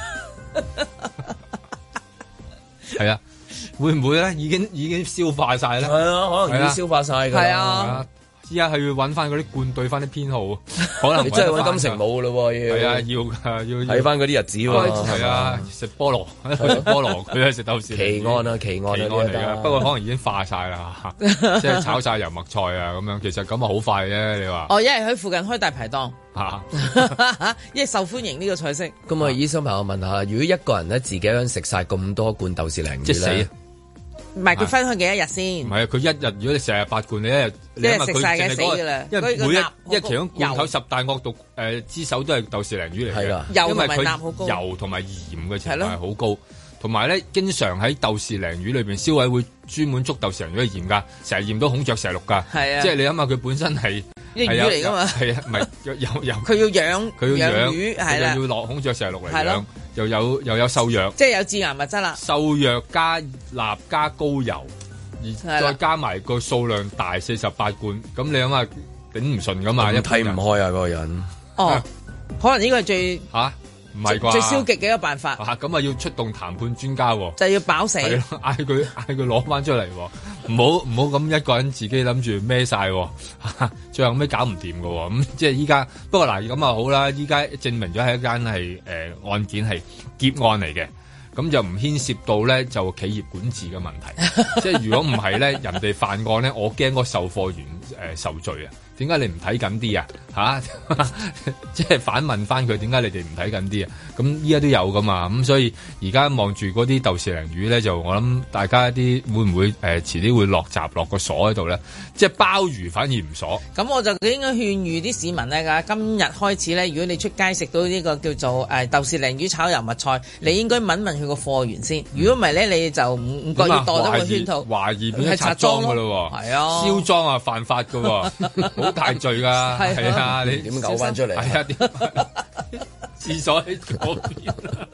係啊，會唔會咧？已經消化晒咧？ 係啊，可能已經消化晒㗎。 係啊。 依家係要揾翻嗰啲罐對翻啲編號，可能你真係揾金城武咯喎， 係啊，要睇翻嗰啲日子喎， 係啊，食菠蘿，佢係食豆豉。 奇案啊，奇案嚟㗎，不過可能已經化晒啦，即係炒晒油麥菜啊咁樣，其實咁啊好快啫，你話？ 哦，因為喺附近開大排檔因為受歡迎呢個菜式。 咁啊，醫生朋友問下，如果一個人咧自己想食晒咁多罐豆豉鯪魚， 即係死。 唔係佢分開幾多日先？唔係啊，佢一日如果你成日8罐，你一日食晒嘅死㗎啦。 因為因為其中罐頭十大惡毒之首都係豆豉鯪魚嚟嘅， 因為佢油同埋鹽嘅程度係好高，同埋咧經常喺豆豉鯪魚裏邊，消委會專門捉豆豉鯪魚去驗㗎，成日驗到孔雀石綠㗎。係啊，即係你諗下佢本身係魚嚟㗎嘛？係啊， 唔係有佢要養魚係啦， 要落孔雀石綠嚟養。又有瘦藥， 即係有致癌物質啦。 瘦藥加鈉加高油，而再加埋個數量大48罐，咁你諗下頂唔順噶嘛？一睇唔開啊嗰個人。 哦，可能呢個係最唔係啩？ 最消極嘅一個辦法。 咁啊要出動談判專家喎， 就要飽死。 係咯，嗌佢攞翻出嚟喎，唔好咁一個人自己諗住孭晒，最後尾搞唔掂㗎喎。咁即係依家，不過嗱咁啊好啦，依家證明咗係一間係案件係劫案嚟嘅，咁就唔牽涉到咧就企業管治嘅問題。即係如果唔係咧，人哋犯案咧，我驚個售貨員受罪啊！點解你唔睇緊啲啊？即係反問翻佢，點解你哋唔睇緊啲啊？咁依家都有噶嘛？咁所以而家望住嗰啲豆豉鯪魚咧，就我諗大家啲會唔會遲啲會落閘落個鎖喺度咧？即係鮑魚反而唔鎖。 咁我就應該勸喻啲市民咧，今日開始咧，如果你出街食到呢個叫做豆豉鯪魚炒油麥菜，你應該問問佢個貨源先。如果唔係咧，你就唔覺意墮咗個圈套， 懷疑變咗賊贓噶咯喎。係啊，燒贓啊犯法噶喎。好大罪㗎，係啊！你點嘔翻出嚟？ 係啊，廁所喺嗰邊。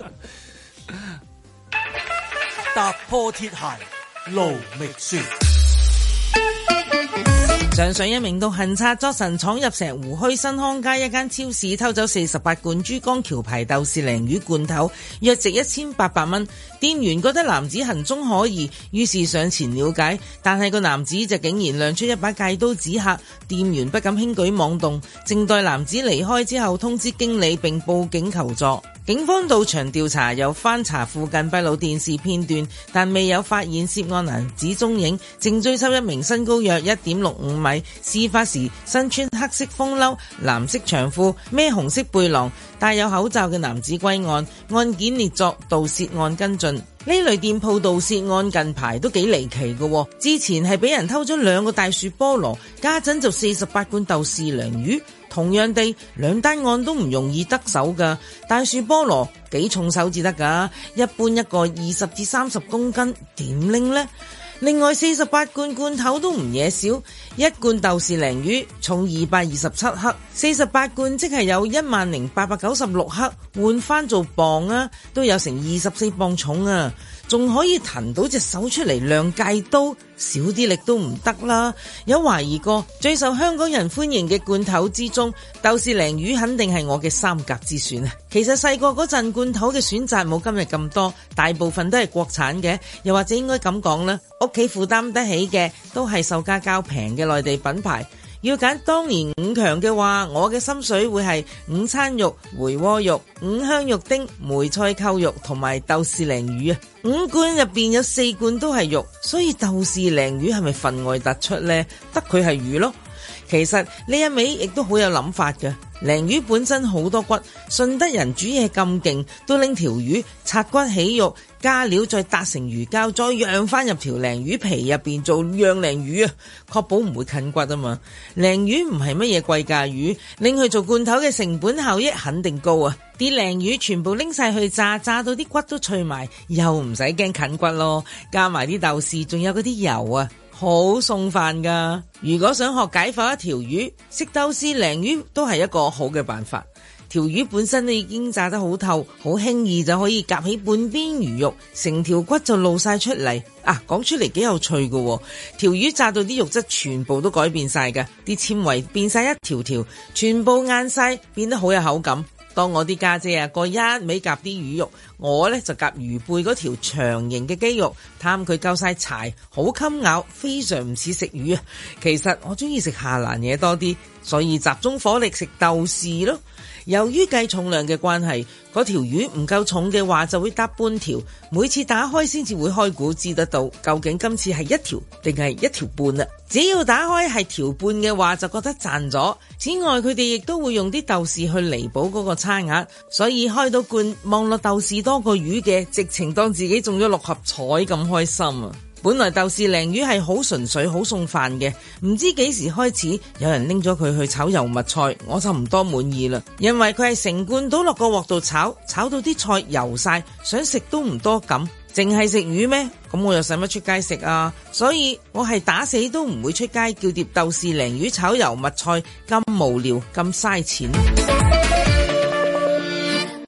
踏破鐵鞋路未雪。 上水一名到行賊作神闖入石湖墟新康街一間超市，偷走48罐珠江橋牌豆豉鯪魚罐頭，約值1800蚊。店員覺得男子行蹤可疑，於是上前了解，但係個男子就竟然亮出一把戒刀指嚇，店員不敢輕舉妄動，靜待男子離開之後通知經理並報警求助。警方到場調查，又翻查附近閉路電視片段，但未有發現涉案男子蹤影，正追緝一名身高約1.65米，事發時身穿黑色風褸、藍色長褲、孭紅色背囊、戴有口罩嘅男子歸案，案件列作盜竊案跟進。呢類店鋪盜竊案近排都幾離奇嘅，之前係俾人偷咗2個大樹菠蘿，家陣就48罐豆豉鯪魚。同樣地，兩單案都唔容易得手㗎。大樹菠蘿幾重手至得㗎，一般一個20至30公斤，點拎呢？另外48罐罐頭都唔嘢少，一罐豆豉鯪魚重227克，48罐即係有10,896克，換翻做磅啊，都有成24磅重啊！仲可以騰到隻手出嚟亮戒刀，少啲力都唔得啦。有懷疑過最受香港人歡迎嘅罐頭之中，豆豉鯪魚肯定係我嘅3甲之選啊！其實細個嗰陣罐頭嘅選擇冇今日咁多，大部分都係國產嘅，又或者應該咁講啦，屋企負擔得起嘅都係售價較平嘅內地品牌。要揀當年5強嘅話，我嘅心水會係午餐肉、回鍋肉、五香肉丁、梅菜扣肉同埋豆豉鯪魚啊！5罐入邊有4罐都係肉，所以豆豉鯪魚係咪分外突出呢？得佢係魚咯。其實呢一味亦都好有諗法嘅。鯪魚本身好多骨，順德人煮嘢咁勁，都拎條魚拆骨起肉，加料再搭成魚膠，再釀翻入條鯪魚皮入邊做釀鯪魚啊，確保唔會近骨啊嘛。鯪魚唔係乜嘢貴價魚，拎去做罐頭嘅成本效益肯定高啊！啲鯪魚全部拎晒去炸，炸到啲骨都脆埋，又唔使驚近骨咯。加埋啲豆豉，仲有嗰啲油啊！好餸飯噶，如果想學解剖一條魚，食豆豉鯪魚都係一個好嘅辦法。條魚本身都已經炸得好透，好輕易就可以夾起半邊魚肉，成條骨就露晒出嚟。講出嚟幾有趣㗎，條魚炸到啲肉質全部都改變晒㗎，啲纖維變晒一條條，全部硬晒，變得好有口感。 當我啲家姐個一味夾啲魚肉，我呢就夾魚背嗰條長形嘅肌肉，貪佢夠晒柴，好襟咬，非常唔似食魚啊。其實我中意食下欄嘢多啲，所以集中火力食豆豉咯。由於計重量嘅關係，嗰條魚唔夠重嘅話就會搭半條，每次打開先至會開估知得到究竟今次係一條定係一條半啦。只要打開係條半嘅話就覺得賺咗。此外佢哋亦都會用啲豆豉去彌補嗰個差額，所以開到罐望落豆豉多過魚嘅，直情當自己中咗六合彩咁開心啊！本來豆豉鯪魚係好純粹好送飯嘅，唔知幾時開始有人拎咗佢去炒油麥菜，我就唔多滿意啦。因為佢係成罐倒落個鑊度炒，炒到啲菜油晒，想食都唔多咁。淨係食魚咩？咁我又使乜出街食啊？所以我係打死都唔會出街叫碟豆豉鯪魚炒油麥菜，咁無聊咁嘥錢。